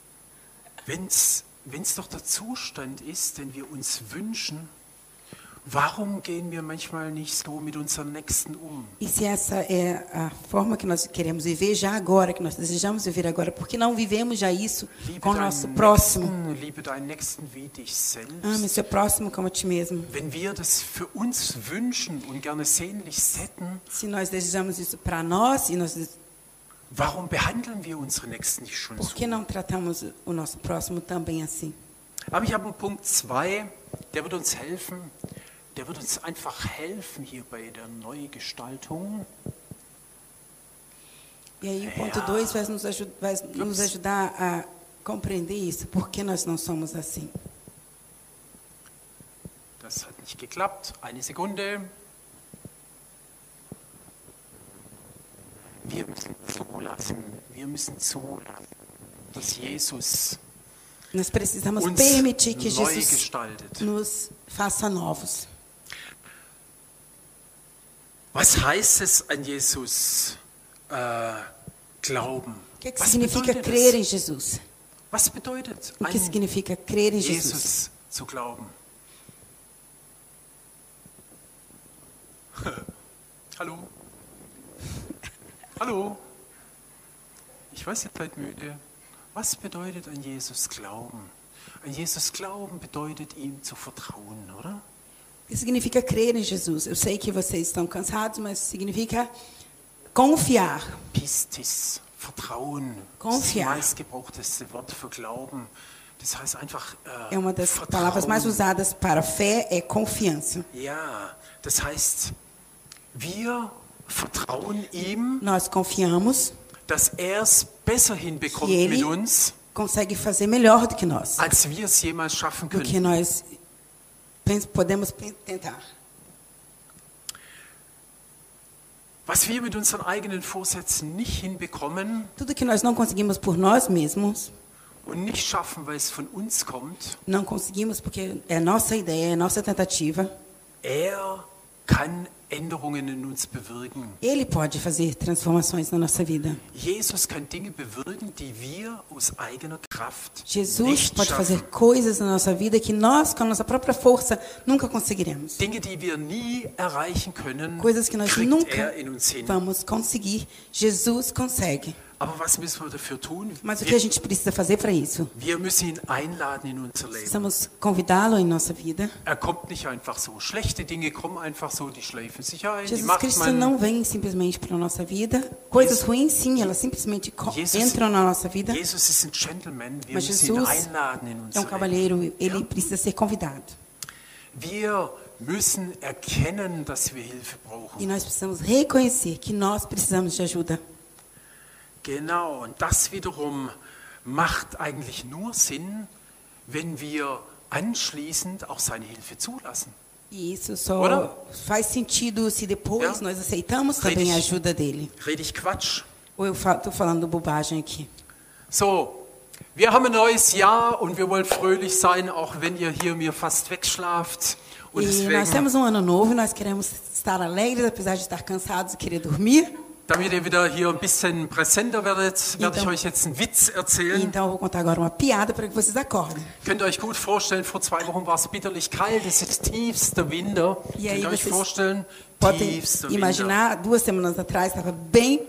[SPEAKER 1] Wenn's doch der Zustand ist, den wir uns wünschen, warum gehen wir manchmal nicht so mit unseren Nächsten um?
[SPEAKER 2] E se essa é a forma que nós queremos viver já agora, que nós desejamos viver agora, por que não vivemos já isso com o nosso próximo?
[SPEAKER 1] Liebe deinen Nächsten wie dich selbst.
[SPEAKER 2] Ame seu próximo como a ti mesmo.
[SPEAKER 1] Wenn wir das für uns wünschen und gerne sehnlichst hätten,
[SPEAKER 2] Se nós desejamos isso para nós e nós
[SPEAKER 1] Warum behandeln wir unsere Nächsten nicht schon
[SPEAKER 2] Por que
[SPEAKER 1] so?
[SPEAKER 2] não tratamos o nosso próximo também assim?
[SPEAKER 1] Aber ich habe einen Punkt 2, der wird uns helfen. Der wird uns einfach helfen hier bei der Neugestaltung.
[SPEAKER 2] E aí o ponto 2 vai nos ajudar a compreender isso. Por que nós não somos assim?
[SPEAKER 1] Das hat nicht geklappt. Eine Sekunde. Wir müssen zulassen, dass Jesus
[SPEAKER 2] Nós precisamos
[SPEAKER 1] uns
[SPEAKER 2] permitir que
[SPEAKER 1] neu
[SPEAKER 2] Jesus
[SPEAKER 1] gestaltet.
[SPEAKER 2] nos faça novos.
[SPEAKER 1] Was heißt es, an Jesus glauben?
[SPEAKER 2] O que
[SPEAKER 1] Was
[SPEAKER 2] significa
[SPEAKER 1] bedeutet
[SPEAKER 2] crer em
[SPEAKER 1] es?
[SPEAKER 2] Jesus?
[SPEAKER 1] Was bedeutet,
[SPEAKER 2] O que
[SPEAKER 1] an
[SPEAKER 2] significa crer em Jesus?
[SPEAKER 1] Jesus zu glauben? Hallo? Hallo? Ich weiß, ihr seid müde. Was bedeutet an Jesus glauben? An Jesus glauben bedeutet ihm zu vertrauen, oder?
[SPEAKER 2] O que significa crer em Jesus? Eu sei que vocês estão cansados, mas significa confiar.
[SPEAKER 1] Pistis, Vertrauen.
[SPEAKER 2] Confiar.
[SPEAKER 1] Das meistgebrauchteste Wort für Glauben. Das heißt einfach
[SPEAKER 2] É uma das
[SPEAKER 1] Vertrauen.
[SPEAKER 2] palavras mais usadas para fé, é confiança.
[SPEAKER 1] Ja, das heißt, wir vertrauen ihm,
[SPEAKER 2] Nós confiamos
[SPEAKER 1] dass er es besser hinbekommt
[SPEAKER 2] que
[SPEAKER 1] mit
[SPEAKER 2] ele
[SPEAKER 1] uns,
[SPEAKER 2] consegue fazer melhor do que nós,
[SPEAKER 1] als wir es jemals schaffen
[SPEAKER 2] do que
[SPEAKER 1] können.
[SPEAKER 2] nós podemos tentar.
[SPEAKER 1] Was wir mit unseren eigenen Vorsätzen nicht hinbekommen
[SPEAKER 2] Tudo que nós não conseguimos por nós mesmos,
[SPEAKER 1] und nicht schaffen, weil es von uns kommt,
[SPEAKER 2] não conseguimos porque é nossa ideia, é nossa tentativa.
[SPEAKER 1] er kann Änderungen in uns bewirken.
[SPEAKER 2] Ele pode fazer transformações na nossa vida.
[SPEAKER 1] Jesus kann Dinge bewirken, die wir aus eigener Kraft
[SPEAKER 2] Jesus
[SPEAKER 1] nicht
[SPEAKER 2] pode
[SPEAKER 1] schaffen.
[SPEAKER 2] fazer coisas na nossa vida que nós, com a nossa própria força, nunca conseguiremos.
[SPEAKER 1] Dinge, die wir nie erreichen können,
[SPEAKER 2] Coisas que nós
[SPEAKER 1] kriegt
[SPEAKER 2] nunca
[SPEAKER 1] er in uns hin.
[SPEAKER 2] vamos conseguir. Jesus consegue.
[SPEAKER 1] Aber was müssen wir dafür tun?
[SPEAKER 2] Mas o que a gente precisa fazer para isso?
[SPEAKER 1] Wir müssen ihn einladen in unser Leben.
[SPEAKER 2] Precisamos convidá-lo em nossa vida.
[SPEAKER 1] Er kommt nicht einfach so. Schlechte Dinge kommen einfach so, die schleifen sich ein, die
[SPEAKER 2] Jesus
[SPEAKER 1] macht
[SPEAKER 2] Cristo
[SPEAKER 1] man.
[SPEAKER 2] não vem simplesmente para a nossa vida. Coisas ruins, sim, elas simplesmente entram na nossa vida.
[SPEAKER 1] Jesus ist ein Gentleman. Wir
[SPEAKER 2] Mas
[SPEAKER 1] müssen ihn
[SPEAKER 2] Jesus
[SPEAKER 1] einladen in
[SPEAKER 2] é
[SPEAKER 1] unser Leben.
[SPEAKER 2] cavalheiro, ele precisa ser convidado.
[SPEAKER 1] Wir müssen erkennen, dass wir Hilfe
[SPEAKER 2] E
[SPEAKER 1] brauchen.
[SPEAKER 2] nós precisamos reconhecer que nós precisamos de ajuda.
[SPEAKER 1] Genau, und das wiederum macht eigentlich nur Sinn, wenn wir anschließend auch seine Hilfe zulassen.
[SPEAKER 2] E isso só
[SPEAKER 1] Ora?
[SPEAKER 2] faz sentido se depois
[SPEAKER 1] Ja.
[SPEAKER 2] nós aceitamos também a ajuda dele.
[SPEAKER 1] Rede ich Quatsch?
[SPEAKER 2] Ou eu estou falando bobagem aqui?
[SPEAKER 1] So, wir haben ein neues Jahr und wir wollen fröhlich sein, auch wenn ihr hier mir fast wegschlaft. Und
[SPEAKER 2] E nós
[SPEAKER 1] deswegen,
[SPEAKER 2] temos um ano novo e nós queremos estar alegres, apesar de estar cansados e querer dormir.
[SPEAKER 1] damit ihr wieder hier ein bisschen präsenter werdet, werde ich
[SPEAKER 2] Então-
[SPEAKER 1] euch jetzt einen Witz erzählen.
[SPEAKER 2] Então eu vou contar agora uma piada para que vocês acordem.
[SPEAKER 1] Könnt ihr euch gut vorstellen, vor 2 Wochen war es bitterlich kalt, es ist tiefster Winter.
[SPEAKER 2] E
[SPEAKER 1] Könnt
[SPEAKER 2] aí
[SPEAKER 1] ihr euch
[SPEAKER 2] vocês
[SPEAKER 1] vorstellen,
[SPEAKER 2] podem
[SPEAKER 1] tiefster Winter.
[SPEAKER 2] imaginar, 2 semanas atrás estava bem,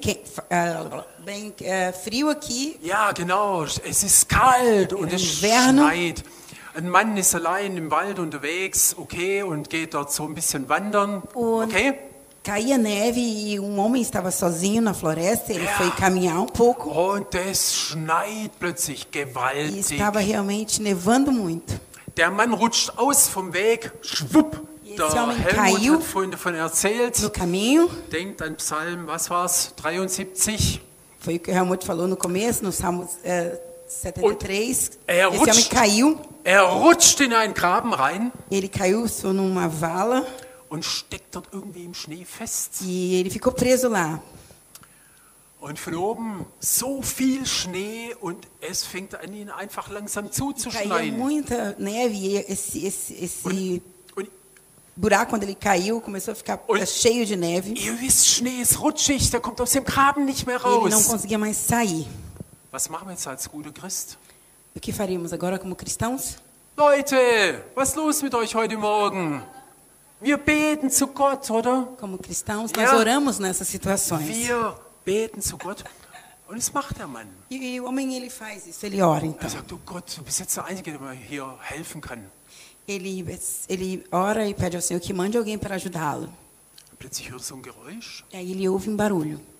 [SPEAKER 2] frio aqui.
[SPEAKER 1] Ja, genau, es ist kalt und es
[SPEAKER 2] Inverno.
[SPEAKER 1] schneit. Ein Mann ist allein im Wald unterwegs, okay, und geht dort so ein bisschen wandern,
[SPEAKER 2] Und
[SPEAKER 1] okay.
[SPEAKER 2] caía neve e um homem estava sozinho na floresta. Ele
[SPEAKER 1] Ja.
[SPEAKER 2] foi caminhar um pouco
[SPEAKER 1] Und es schneit plötzlich
[SPEAKER 2] e
[SPEAKER 1] gewaltig.
[SPEAKER 2] estava realmente nevando muito.
[SPEAKER 1] Der Mann rutscht aus vom Weg, schwupp.
[SPEAKER 2] Esse
[SPEAKER 1] Der
[SPEAKER 2] homem
[SPEAKER 1] Helmut
[SPEAKER 2] caiu
[SPEAKER 1] hat vorhin davon erzählt.
[SPEAKER 2] No caminho,
[SPEAKER 1] Denkt an Psalm, was war's? 73.
[SPEAKER 2] foi o que o Helmut falou no começo, no Salmo 73.
[SPEAKER 1] er
[SPEAKER 2] Esse homem
[SPEAKER 1] rutscht.
[SPEAKER 2] caiu,
[SPEAKER 1] Er rutscht in einen Graben rein
[SPEAKER 2] ele caiu só numa vala
[SPEAKER 1] und steckt dort irgendwie im Schnee fest.
[SPEAKER 2] e ele ficou preso lá.
[SPEAKER 1] Und von oben so viel Schnee und es fängt an, ihn einfach langsam
[SPEAKER 2] Caía
[SPEAKER 1] zuzuschneien.
[SPEAKER 2] muita neve e esse
[SPEAKER 1] Und
[SPEAKER 2] buraco, quando ele caiu, começou a ficar
[SPEAKER 1] Und-
[SPEAKER 2] cheio de neve.
[SPEAKER 1] ihr wisst, Schnee ist rutschig, der kommt aus dem Graben nicht mehr
[SPEAKER 2] E ele não
[SPEAKER 1] raus.
[SPEAKER 2] conseguia mais sair.
[SPEAKER 1] Was machen wir jetzt als guter Christ?
[SPEAKER 2] O que faríamos agora como cristãos?
[SPEAKER 1] Leute, was ist los mit euch heute Morgen? Wir beten zu Gott, oder?
[SPEAKER 2] Como cristãos, nós
[SPEAKER 1] Ja.
[SPEAKER 2] oramos nessas situações.
[SPEAKER 1] Wir beten zu Gott. Und das macht der Mann.
[SPEAKER 2] E o homem, ele faz isso, ele ora então.
[SPEAKER 1] Er sagt, oh Gott, du bist jetzt der Einzige, der mir hier helfen kann.
[SPEAKER 2] Ele ora e pede ao Senhor que mande alguém para ajudá-lo.
[SPEAKER 1] Und plötzlich hört er so ein Geräusch.
[SPEAKER 2] E aí ele ouve um barulho.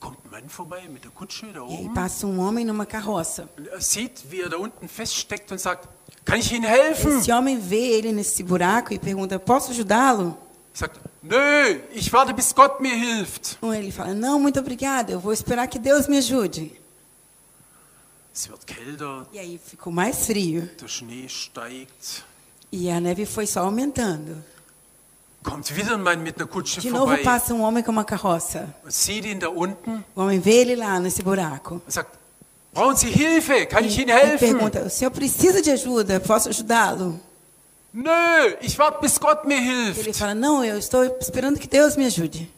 [SPEAKER 1] kommt ein Mann vorbei mit der Kutsche da
[SPEAKER 2] E aí
[SPEAKER 1] oben.
[SPEAKER 2] passa um homem numa carroça.
[SPEAKER 1] Und er sieht, wie er da unten feststeckt und sagt, kann ich Ihnen helfen?
[SPEAKER 2] Esse homem vê ele nesse buraco e pergunta, posso ajudá-lo?
[SPEAKER 1] Sagt, nö, ich warte, bis Gott mir hilft.
[SPEAKER 2] Ou ele fala, não, muito obrigado, eu vou esperar que Deus me ajude.
[SPEAKER 1] Es wird kälter,
[SPEAKER 2] E aí ficou mais frio.
[SPEAKER 1] der Schnee steigt.
[SPEAKER 2] E a neve foi só aumentando.
[SPEAKER 1] Kommt wieder ein Mann mit einer Kutsche
[SPEAKER 2] De novo
[SPEAKER 1] vorbei
[SPEAKER 2] passa um homem com uma carroça.
[SPEAKER 1] und sieht ihn da unten
[SPEAKER 2] O homem vê ele lá nesse buraco.
[SPEAKER 1] und sagt, brauchen Sie Hilfe? Kann ich Ihnen
[SPEAKER 2] E
[SPEAKER 1] helfen?
[SPEAKER 2] pergunta, o senhor precisa de ajuda? Posso ajudá-lo?
[SPEAKER 1] Nö, ich warte, bis Gott mir
[SPEAKER 2] Ele
[SPEAKER 1] hilft.
[SPEAKER 2] fala, não, eu estou esperando que Deus me ajude.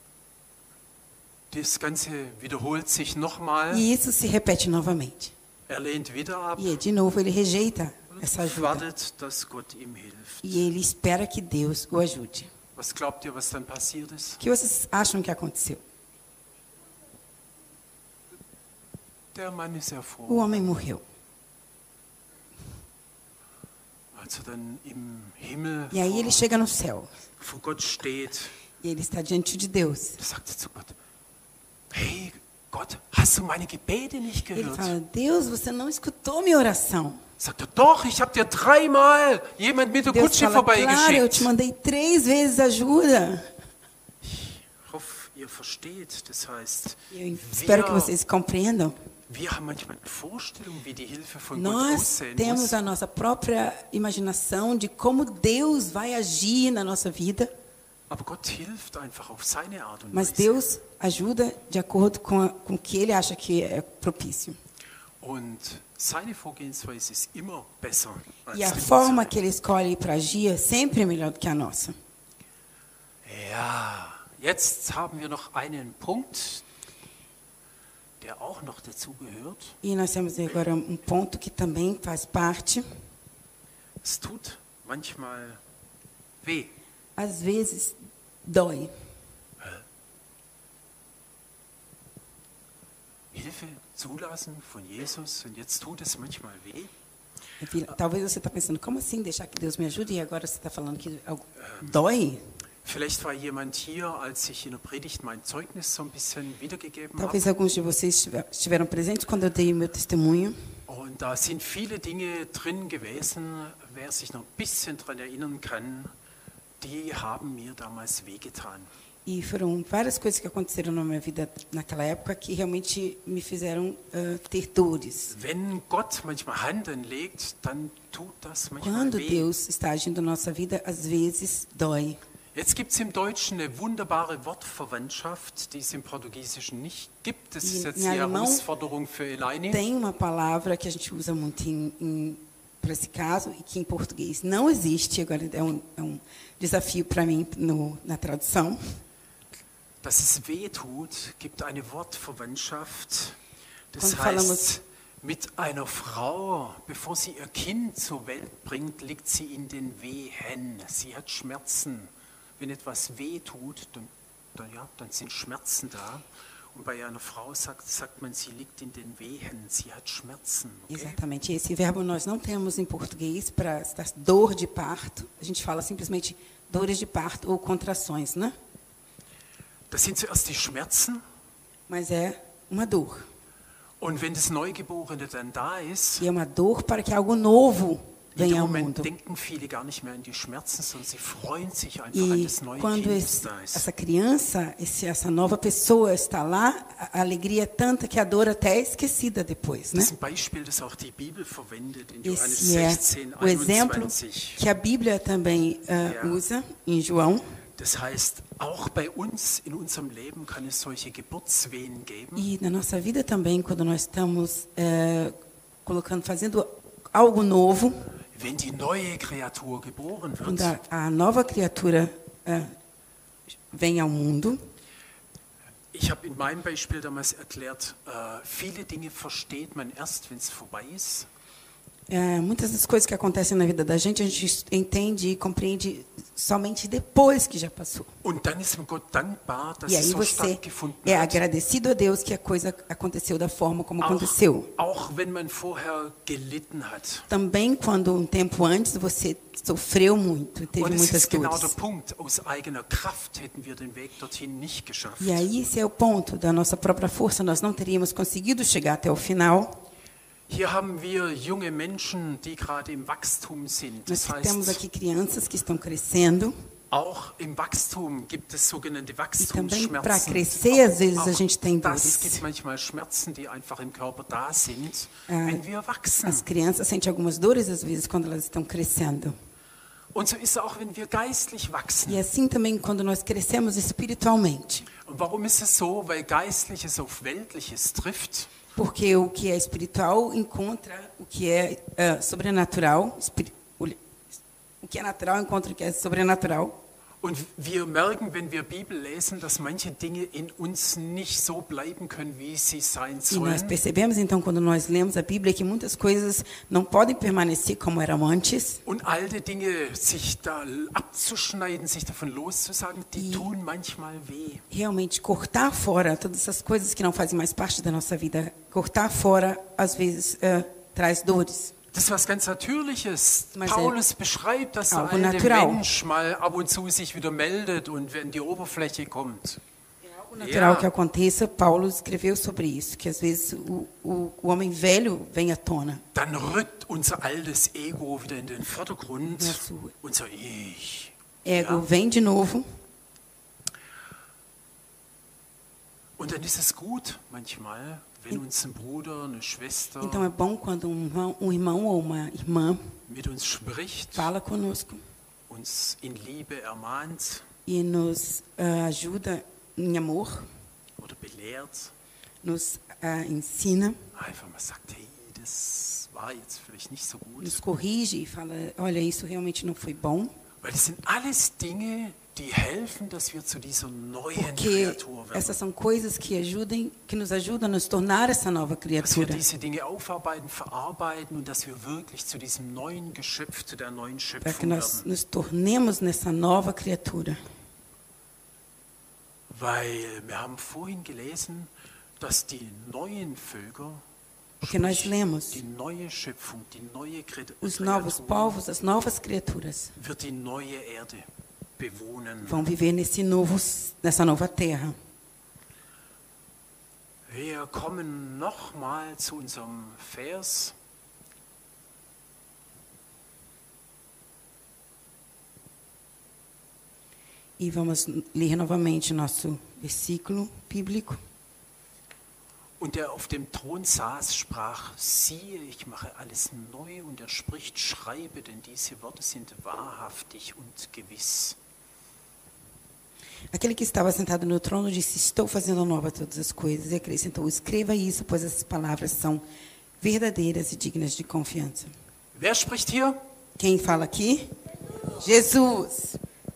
[SPEAKER 1] Das Ganze wiederholt sich nochmal.
[SPEAKER 2] E isso se repete novamente.
[SPEAKER 1] Er lehnt wieder ab
[SPEAKER 2] E de novo ele rejeita essa
[SPEAKER 1] und
[SPEAKER 2] ajuda.
[SPEAKER 1] wartet, dass Gott ihm hilft.
[SPEAKER 2] E ele espera que Deus o ajude.
[SPEAKER 1] Was glaubt ihr, was dann passiert ist?
[SPEAKER 2] O que vocês acham que aconteceu?
[SPEAKER 1] Der Mann ist ja
[SPEAKER 2] O
[SPEAKER 1] froh,
[SPEAKER 2] homem morreu.
[SPEAKER 1] als er dann im Himmel
[SPEAKER 2] E aí ele chega no céu.
[SPEAKER 1] vor Gott steht.
[SPEAKER 2] E ele está diante de Deus.
[SPEAKER 1] Da sagt er zu Gott, hey Gott, hast du meine Gebete nicht
[SPEAKER 2] Ele
[SPEAKER 1] gehört?
[SPEAKER 2] fala, Deus, você não escutou minha oração.
[SPEAKER 1] Sagt er, doch, ich habe dir 3-mal jemand mit der
[SPEAKER 2] Deus
[SPEAKER 1] Kutsche
[SPEAKER 2] fala, claro, eu te
[SPEAKER 1] vorbeigeschickt.
[SPEAKER 2] mandei 3 vezes ajuda.
[SPEAKER 1] Ich hoffe, ihr versteht. Das heißt,
[SPEAKER 2] Eu espero que vocês compreendam.
[SPEAKER 1] wir haben manchmal eine Vorstellung, wie die Hilfe von Gott
[SPEAKER 2] Nós
[SPEAKER 1] aussehen
[SPEAKER 2] temos
[SPEAKER 1] muss.
[SPEAKER 2] a nossa própria imaginação de como Deus vai agir na nossa vida,
[SPEAKER 1] Aber Gott hilft einfach auf seine Art und
[SPEAKER 2] mas
[SPEAKER 1] Weise.
[SPEAKER 2] Deus ajuda de acordo com o que Ele acha que é propício.
[SPEAKER 1] Und seine Vorgehensweise ist immer besser als
[SPEAKER 2] E a
[SPEAKER 1] die
[SPEAKER 2] forma
[SPEAKER 1] unsere.
[SPEAKER 2] que Ele escolhe para agir é sempre melhor do que a nossa.
[SPEAKER 1] Ja, jetzt haben wir noch einen Punkt, der auch noch dazu gehört.
[SPEAKER 2] E nós temos agora um ponto que também faz parte.
[SPEAKER 1] Es tut manchmal weh.
[SPEAKER 2] Às vezes dói.
[SPEAKER 1] Hilfe zulassen von Jesus und jetzt tut es manchmal weh.
[SPEAKER 2] Talvez você está pensando, como assim deixar que Deus me ajude? E agora você está falando que algo dói?
[SPEAKER 1] Vielleicht war jemand hier, als ich in der Predigt mein Zeugnis so ein bisschen wiedergegeben habe.
[SPEAKER 2] Talvez alguns de vocês estiveram presentes quando eu dei o meu testemunho.
[SPEAKER 1] Und da sind viele Dinge drin gewesen, wer sich noch ein bisschen daran erinnern kann, die haben mir damals wehgetan.
[SPEAKER 2] E foram várias coisas que aconteceram na minha vida naquela época que realmente me fizeram ter dores.
[SPEAKER 1] Wenn Gott manchmal Hand anlegt, dann tut das manchmal
[SPEAKER 2] Quando
[SPEAKER 1] weh.
[SPEAKER 2] Deus está agindo na nossa vida, às vezes dói.
[SPEAKER 1] Jetzt gibt es im Deutschen eine wunderbare Wortverwandtschaft, die es im Portugiesischen nicht gibt. Das ist jetzt die
[SPEAKER 2] Em alemão
[SPEAKER 1] Herausforderung für Elaine.
[SPEAKER 2] Tem uma palavra que a gente usa muito para esse caso e que em português não existe. Agora é um desafio para mim na tradução.
[SPEAKER 1] Dass es weh tut, gibt eine Wortverwandtschaft. Das
[SPEAKER 2] Quando falamos-
[SPEAKER 1] heißt, mit einer Frau, bevor sie ihr Kind zur Welt bringt, liegt sie in den Wehen. Sie hat Schmerzen. Wenn etwas weh tut, dann sind Schmerzen da. Und bei einer Frau sagt man, sie liegt in den Wehen. Sie hat Schmerzen. Okay?
[SPEAKER 2] Exatamente. Esse verbo nós não temos em português para dor de parto. A gente fala simplesmente dores de parto ou contrações, né?
[SPEAKER 1] Das sind zuerst die Schmerzen.
[SPEAKER 2] Mas é uma dor.
[SPEAKER 1] Und wenn das Neugeborene dann da ist,
[SPEAKER 2] E é uma dor para que algo novo
[SPEAKER 1] in dem
[SPEAKER 2] venha ao
[SPEAKER 1] Moment
[SPEAKER 2] mundo.
[SPEAKER 1] denken viele gar nicht mehr an die Schmerzen, sondern sie freuen sich einfach an
[SPEAKER 2] E
[SPEAKER 1] das neue
[SPEAKER 2] quando
[SPEAKER 1] Kind, das da ist.
[SPEAKER 2] essa criança, essa nova pessoa está lá, a alegria é tanta que a dor até é esquecida depois, né?
[SPEAKER 1] Das ist ein Beispiel, das auch die Bibel verwendet in Johannes
[SPEAKER 2] Esse é
[SPEAKER 1] 16,
[SPEAKER 2] o exemplo
[SPEAKER 1] 21.
[SPEAKER 2] que a Bíblia também usa em João.
[SPEAKER 1] Das heißt, auch bei uns in unserem Leben kann es solche Geburtswehen geben.
[SPEAKER 2] E na nossa vida também, quando nós estamos fazendo algo novo,
[SPEAKER 1] Wenn die neue Kreatur geboren wird,
[SPEAKER 2] quando a nova criatura vem ao mundo,
[SPEAKER 1] ich habe in meinem Beispiel damals erklärt, viele Dinge versteht man erst, wenn es vorbei ist.
[SPEAKER 2] Muitas das coisas que acontecem na vida da gente, a gente entende e compreende somente depois que já passou.
[SPEAKER 1] Und dann ist man Gott dankbar, dass
[SPEAKER 2] E
[SPEAKER 1] es
[SPEAKER 2] aí
[SPEAKER 1] so
[SPEAKER 2] você
[SPEAKER 1] stattgefunden
[SPEAKER 2] é
[SPEAKER 1] hat.
[SPEAKER 2] agradecido a Deus que a coisa aconteceu da forma como aconteceu.
[SPEAKER 1] Auch wenn man vorher gelitten hat.
[SPEAKER 2] Também quando um tempo antes você sofreu muito, teve
[SPEAKER 1] Und es
[SPEAKER 2] muitas
[SPEAKER 1] ist genau der
[SPEAKER 2] dores.
[SPEAKER 1] Punkt, aus eigener Kraft hätten wir den Weg dorthin nicht geschafft.
[SPEAKER 2] E aí esse é o ponto da nossa própria força, nós não teríamos conseguido chegar até o final.
[SPEAKER 1] Hier haben wir junge Menschen, die gerade im Wachstum sind.
[SPEAKER 2] Nós
[SPEAKER 1] Das
[SPEAKER 2] temos
[SPEAKER 1] heißt,
[SPEAKER 2] aqui crianças que estão crescendo.
[SPEAKER 1] auch im Wachstum gibt es sogenannte
[SPEAKER 2] também para
[SPEAKER 1] Wachstumsschmerzen.
[SPEAKER 2] crescer, às vezes a gente tem
[SPEAKER 1] Das
[SPEAKER 2] dores.
[SPEAKER 1] gibt manchmal Schmerzen, die einfach im Körper da sind, wenn wir wachsen.
[SPEAKER 2] As crianças sentem algumas dores às vezes quando elas estão crescendo.
[SPEAKER 1] Und so ist es auch, wenn wir geistlich wachsen.
[SPEAKER 2] E assim também quando nós crescemos espiritualmente.
[SPEAKER 1] Und warum ist es so? Weil Geistliches auf Weltliches trifft.
[SPEAKER 2] Porque o que é espiritual encontra o que é sobrenatural. O que é natural encontra o que é sobrenatural.
[SPEAKER 1] Und wir merken, wenn wir Bibel lesen, dass manche Dinge in uns nicht so bleiben können, wie sie sein
[SPEAKER 2] E nós
[SPEAKER 1] sollen.
[SPEAKER 2] percebemos então quando nós lemos a Bíblia que muitas coisas não podem permanecer como eram antes.
[SPEAKER 1] Und alte Dinge sich da abzuschneiden, sich davon loszusagen, die tun manchmal weh.
[SPEAKER 2] Realmente cortar fora todas essas coisas que não fazem mais parte da nossa vida, cortar fora às vezes traz dores.
[SPEAKER 1] Das ist was ganz Natürliches.
[SPEAKER 2] Mas
[SPEAKER 1] Paulus beschreibt, dass der
[SPEAKER 2] algo
[SPEAKER 1] alte
[SPEAKER 2] natural.
[SPEAKER 1] Mensch mal ab und zu sich wieder meldet und wenn die Oberfläche kommt.
[SPEAKER 2] O natural que aconteça, Paulo escreveu sobre isso, que às vezes o homem velho vem à tona.
[SPEAKER 1] Dann rückt unser altes Ego wieder in den Vordergrund,
[SPEAKER 2] Nosso
[SPEAKER 1] unser Ich.
[SPEAKER 2] ego vem de novo.
[SPEAKER 1] Und dann ist es gut manchmal, wenn uns ein Bruder, eine Schwester
[SPEAKER 2] Então é bom quando um irmão ou uma irmã
[SPEAKER 1] mit uns spricht,
[SPEAKER 2] fala conosco
[SPEAKER 1] uns in Liebe ermahnt
[SPEAKER 2] e nos ajuda em amor,
[SPEAKER 1] oder belehrt,
[SPEAKER 2] nos ensina,
[SPEAKER 1] einfach mal sagt, hey, das war jetzt vielleicht nicht so gut.
[SPEAKER 2] nos corrige e fala, olha, isso realmente não foi bom.
[SPEAKER 1] Weil das sind alles Dinge, die helfen, dass wir zu dieser neuen
[SPEAKER 2] Porque
[SPEAKER 1] Kreatur werden.
[SPEAKER 2] essas são coisas que nos ajudam a nos tornar essa nova
[SPEAKER 1] Dass wir
[SPEAKER 2] criatura.
[SPEAKER 1] diese Dinge aufarbeiten, verarbeiten und dass wir wirklich zu diesem neuen Geschöpf, zu der neuen
[SPEAKER 2] Para que
[SPEAKER 1] Schöpfung
[SPEAKER 2] nós
[SPEAKER 1] werden.
[SPEAKER 2] nos tornemos nessa nova criatura.
[SPEAKER 1] Weil wir haben vorhin gelesen, dass die neuen Völker,
[SPEAKER 2] Porque nós
[SPEAKER 1] sprich,
[SPEAKER 2] lemos
[SPEAKER 1] die neue Schöpfung, die neue
[SPEAKER 2] os novos
[SPEAKER 1] Kreatur,
[SPEAKER 2] povos, as novas criaturas
[SPEAKER 1] wird die neue Erde bewohnen.
[SPEAKER 2] vão viver nessa nova terra.
[SPEAKER 1] Wir kommen nochmal zu unserem Vers.
[SPEAKER 2] E vamos ler novamente nosso versículo bíblico.
[SPEAKER 1] Und der auf dem Thron saß, sprach, siehe, ich mache alles neu. Und er spricht, schreibe, denn diese Worte sind wahrhaftig und gewiss.
[SPEAKER 2] Aquele que estava sentado no trono disse, estou fazendo nova todas as coisas. E acrescentou, escreva isso, pois essas palavras são verdadeiras e dignas de confiança.
[SPEAKER 1] Wer spricht hier?
[SPEAKER 2] Quem fala aqui? Jesus.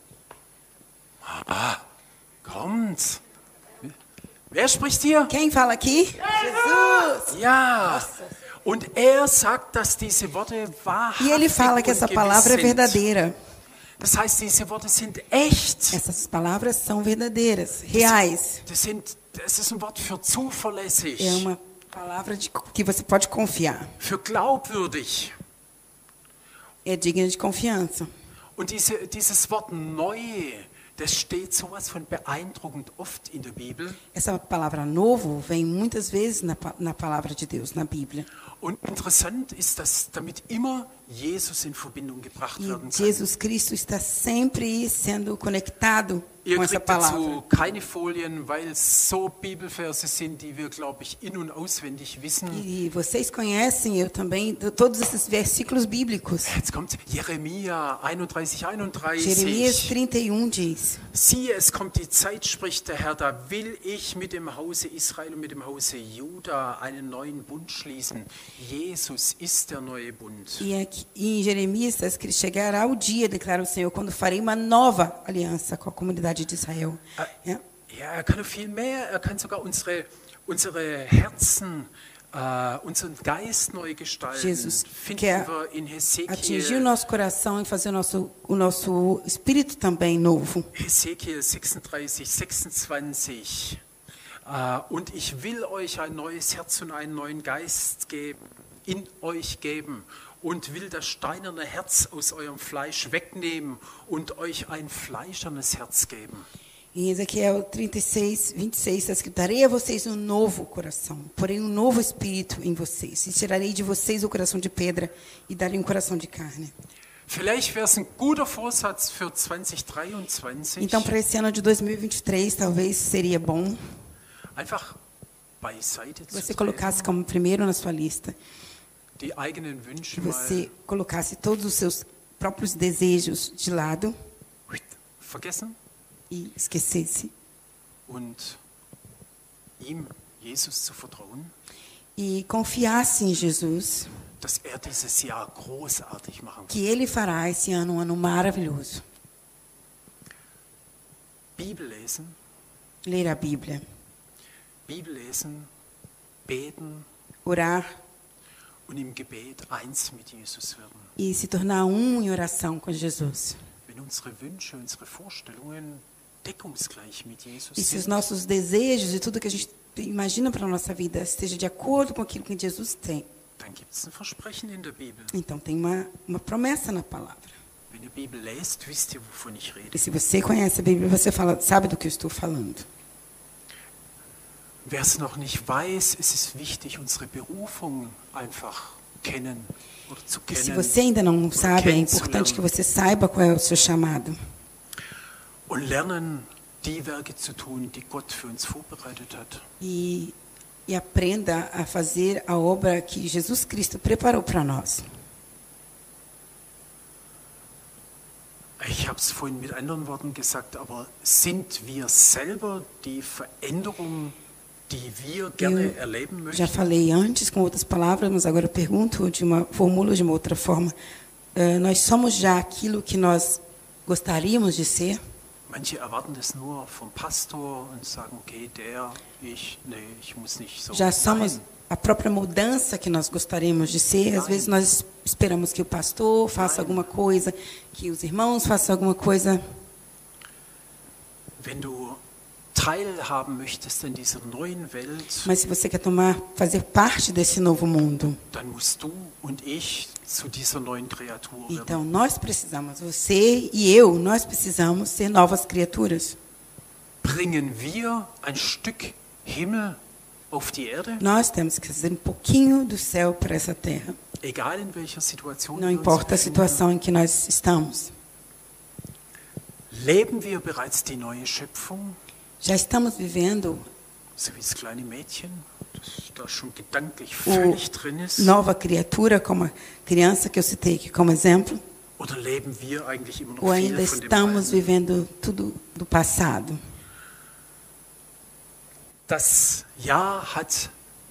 [SPEAKER 1] Kommt. Wer spricht hier?
[SPEAKER 2] Quem fala aqui? Jesus.
[SPEAKER 1] Ja. Und er sagt, dass diese Worte wahrhaftig
[SPEAKER 2] E ele fala que essa
[SPEAKER 1] und
[SPEAKER 2] palavra é
[SPEAKER 1] gewiss sind.
[SPEAKER 2] verdadeira.
[SPEAKER 1] Das heißt, diese Worte sind echt.
[SPEAKER 2] Essas palavras são verdadeiras, reais.
[SPEAKER 1] Das ist ein Wort für zuverlässig,
[SPEAKER 2] É uma palavra que você pode confiar.
[SPEAKER 1] für glaubwürdig.
[SPEAKER 2] É digna de confiança.
[SPEAKER 1] Und dieses Wort neu, das steht sowas von beeindruckend oft in der Bibel.
[SPEAKER 2] Essa palavra novo vem muitas vezes na palavra de Deus, na Bíblia.
[SPEAKER 1] Und interessant ist, dass damit immer Jesus in Verbindung gebracht
[SPEAKER 2] E
[SPEAKER 1] werden kann.
[SPEAKER 2] Jesus Cristo está sempre sendo conectado
[SPEAKER 1] Ihr
[SPEAKER 2] com essa
[SPEAKER 1] kriegt dazu
[SPEAKER 2] palavra.
[SPEAKER 1] keine Folien, weil es so Bibelverse sind, die wir, glaube ich, in- und auswendig wissen.
[SPEAKER 2] E vocês conhecem, eu também, todos esses versículos bíblicos.
[SPEAKER 1] Jetzt kommt Jeremia 31, 31.
[SPEAKER 2] Jeremias 31 diz,
[SPEAKER 1] Siehe, es kommt die Zeit, spricht der Herr, da will ich mit dem Hause Israel und mit dem Hause Juda einen neuen Bund schließen. Jesus ist der neue Bund.
[SPEAKER 2] e aqui, em Jeremias está escrito, chegará o dia, declara o Senhor, quando farei uma nova aliança com a comunidade de Israel. É.
[SPEAKER 1] Ja, er kann noch viel mehr, er kann sogar unsere Herzen unseren Geist neu gestalten,
[SPEAKER 2] Jesus
[SPEAKER 1] finden
[SPEAKER 2] quer
[SPEAKER 1] wir in
[SPEAKER 2] atingir o
[SPEAKER 1] Hesekiel,
[SPEAKER 2] nosso coração e fazer o nosso espírito também novo.
[SPEAKER 1] Hesekiel 36, 26. Und ich will euch ein neues Herz und einen neuen Geist in euch geben und will das steinerne Herz aus eurem Fleisch wegnehmen und euch ein fleischernes Herz geben.
[SPEAKER 2] Em Ezequiel 36, 26, está escrito: darei a vocês um novo coração, porém um novo espírito em vocês. E tirarei de vocês o coração de pedra e darei um coração de carne.
[SPEAKER 1] Vielleicht wäre es ein guter Vorsatz für 2023,
[SPEAKER 2] Então, para esse ano de 2023, talvez seria bom
[SPEAKER 1] einfach beiseite
[SPEAKER 2] que
[SPEAKER 1] zu
[SPEAKER 2] você
[SPEAKER 1] treten,
[SPEAKER 2] colocasse como primeiro na sua lista,
[SPEAKER 1] die eigenen Wünsche
[SPEAKER 2] que você
[SPEAKER 1] mal
[SPEAKER 2] colocasse todos os seus próprios desejos de lado
[SPEAKER 1] vergessen
[SPEAKER 2] e esquecesse
[SPEAKER 1] und ihm, Jesus, zu vertrauen,
[SPEAKER 2] e confiasse em Jesus,
[SPEAKER 1] dass er dieses Jahr großartig machen wird.
[SPEAKER 2] que Ele fará esse ano um ano maravilhoso.
[SPEAKER 1] Bibel lesen,
[SPEAKER 2] Ler a Bíblia,
[SPEAKER 1] beten
[SPEAKER 2] orar
[SPEAKER 1] und im Gebet eins mit Jesus werden.
[SPEAKER 2] e se tornar um em oração com Jesus.
[SPEAKER 1] Wenn unsere Wünsche, unsere Vorstellungen deckungsgleich mit Jesus
[SPEAKER 2] E se os
[SPEAKER 1] sind,
[SPEAKER 2] nossos desejos e tudo que a gente imagina para a nossa vida esteja de acordo com aquilo que Jesus tem,
[SPEAKER 1] dann gibt es ein Versprechen in der Bibel.
[SPEAKER 2] então tem uma promessa na palavra.
[SPEAKER 1] Wenn ihr Bibel lest, wisst ihr, wovon ich rede.
[SPEAKER 2] E se você conhece a Bíblia, você sabe do que eu estou falando.
[SPEAKER 1] Wer es noch nicht weiß, es ist wichtig, unsere Berufung einfach kennen oder zu
[SPEAKER 2] E se
[SPEAKER 1] kennen
[SPEAKER 2] você ainda não
[SPEAKER 1] oder
[SPEAKER 2] sabe, é importante que
[SPEAKER 1] kennenzulernen
[SPEAKER 2] você saiba qual é o seu chamado.
[SPEAKER 1] und lernen, die Werke zu tun, die Gott für uns vorbereitet hat.
[SPEAKER 2] E aprenda a fazer a obra que Jesus Cristo preparou para nós.
[SPEAKER 1] Ich habe es vorhin mit anderen Worten gesagt, aber sind wir selber die Veränderung, die wir gerne erleben
[SPEAKER 2] Já
[SPEAKER 1] möchten?
[SPEAKER 2] falei antes com outras palavras, mas agora eu pergunto formulo de uma outra forma. Nós somos já aquilo que nós gostaríamos de ser?
[SPEAKER 1] Manche erwarten das nur vom Pastor und sagen, okay, ich muss nicht so
[SPEAKER 2] Já somos
[SPEAKER 1] sein.
[SPEAKER 2] a própria mudança que nós gostaríamos de ser? Às vezes nós esperamos que o pastor faça alguma coisa, que os irmãos façam alguma coisa.
[SPEAKER 1] Wenn du teilhaben möchtest an dieser neuen Welt,
[SPEAKER 2] Mas se você quer fazer parte desse novo mundo,
[SPEAKER 1] dann musst du und ich zu dieser neuen Kreatur werden.
[SPEAKER 2] então nós precisamos, você e eu, nós precisamos ser novas criaturas.
[SPEAKER 1] Bringen wir ein Stück Himmel auf die Erde,
[SPEAKER 2] Nós temos que fazer um pouquinho do céu para essa terra.
[SPEAKER 1] egal in welcher Situation
[SPEAKER 2] Não
[SPEAKER 1] wir uns
[SPEAKER 2] importa a
[SPEAKER 1] befinden.
[SPEAKER 2] situação em que nós estamos.
[SPEAKER 1] Leben wir bereits die neue Schöpfung,
[SPEAKER 2] Já estamos vivendo
[SPEAKER 1] so wie das kleine Mädchen, das da schon gedanklich völlig drin ist?
[SPEAKER 2] nova criatura, como a criança que eu citei aqui como exemplo,
[SPEAKER 1] Oder leben wir eigentlich immer noch
[SPEAKER 2] ou
[SPEAKER 1] viel
[SPEAKER 2] ainda
[SPEAKER 1] von dem
[SPEAKER 2] estamos
[SPEAKER 1] Alten?
[SPEAKER 2] vivendo tudo do passado?
[SPEAKER 1] Das Jahr hat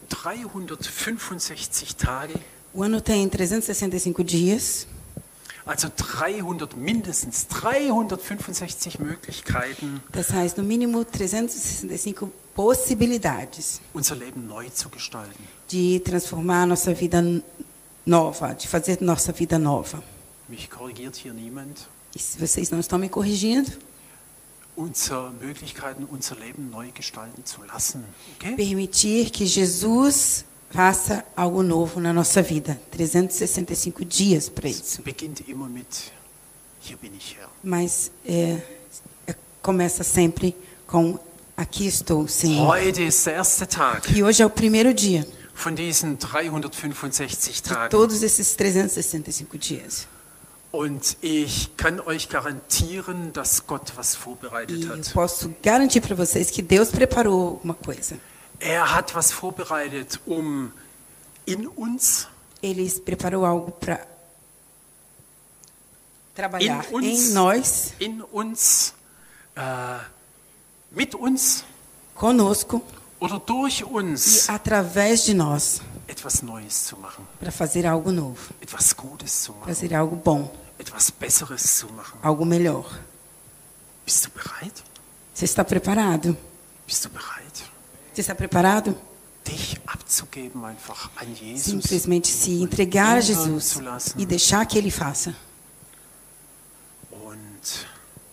[SPEAKER 1] 365 Tage,
[SPEAKER 2] O ano tem 365 dias,
[SPEAKER 1] also mindestens 365 Möglichkeiten,
[SPEAKER 2] das heißt, no mínimo 365 possibilidades
[SPEAKER 1] unser Leben neu zu gestalten.
[SPEAKER 2] de transformar a nossa vida nova, de fazer nossa vida nova.
[SPEAKER 1] Mich korrigiert hier niemand.
[SPEAKER 2] E se vocês não estão me corrigindo,
[SPEAKER 1] Unsere Möglichkeiten, unser Leben neu gestalten zu lassen. Okay?
[SPEAKER 2] permitir que Jesus faça algo novo na nossa vida. 365 dias para
[SPEAKER 1] Es
[SPEAKER 2] isso.
[SPEAKER 1] beginnt immer mit, hier bin ich Herr.
[SPEAKER 2] Mas começa sempre com aqui estou, Senhor.
[SPEAKER 1] Heute ist der erste Tag
[SPEAKER 2] E hoje é o primeiro dia
[SPEAKER 1] von diesen 365
[SPEAKER 2] de
[SPEAKER 1] Tagen.
[SPEAKER 2] todos esses 365 dias.
[SPEAKER 1] Und ich kann euch garantieren, dass Gott was
[SPEAKER 2] E
[SPEAKER 1] vorbereitet
[SPEAKER 2] eu
[SPEAKER 1] hat.
[SPEAKER 2] posso garantir para vocês que Deus preparou alguma coisa.
[SPEAKER 1] Er hat was vorbereitet, um in uns,
[SPEAKER 2] Ele preparou algo para trabalhar
[SPEAKER 1] In uns.
[SPEAKER 2] em nós,
[SPEAKER 1] mit uns
[SPEAKER 2] conosco
[SPEAKER 1] oder durch
[SPEAKER 2] e
[SPEAKER 1] uns
[SPEAKER 2] através de nós,
[SPEAKER 1] etwas Neues zu machen,
[SPEAKER 2] para fazer algo novo,
[SPEAKER 1] etwas Gutes zu machen,
[SPEAKER 2] fazer algo bom,
[SPEAKER 1] etwas Besseres zu machen.
[SPEAKER 2] algo melhor.
[SPEAKER 1] Bist du bereit?
[SPEAKER 2] Você está preparado?
[SPEAKER 1] Bist du bereit?
[SPEAKER 2] Você está preparado?
[SPEAKER 1] dich abzugeben einfach an Jesus.
[SPEAKER 2] Simplesmente se entregar a Jesus e deixar que Ele faça.
[SPEAKER 1] Und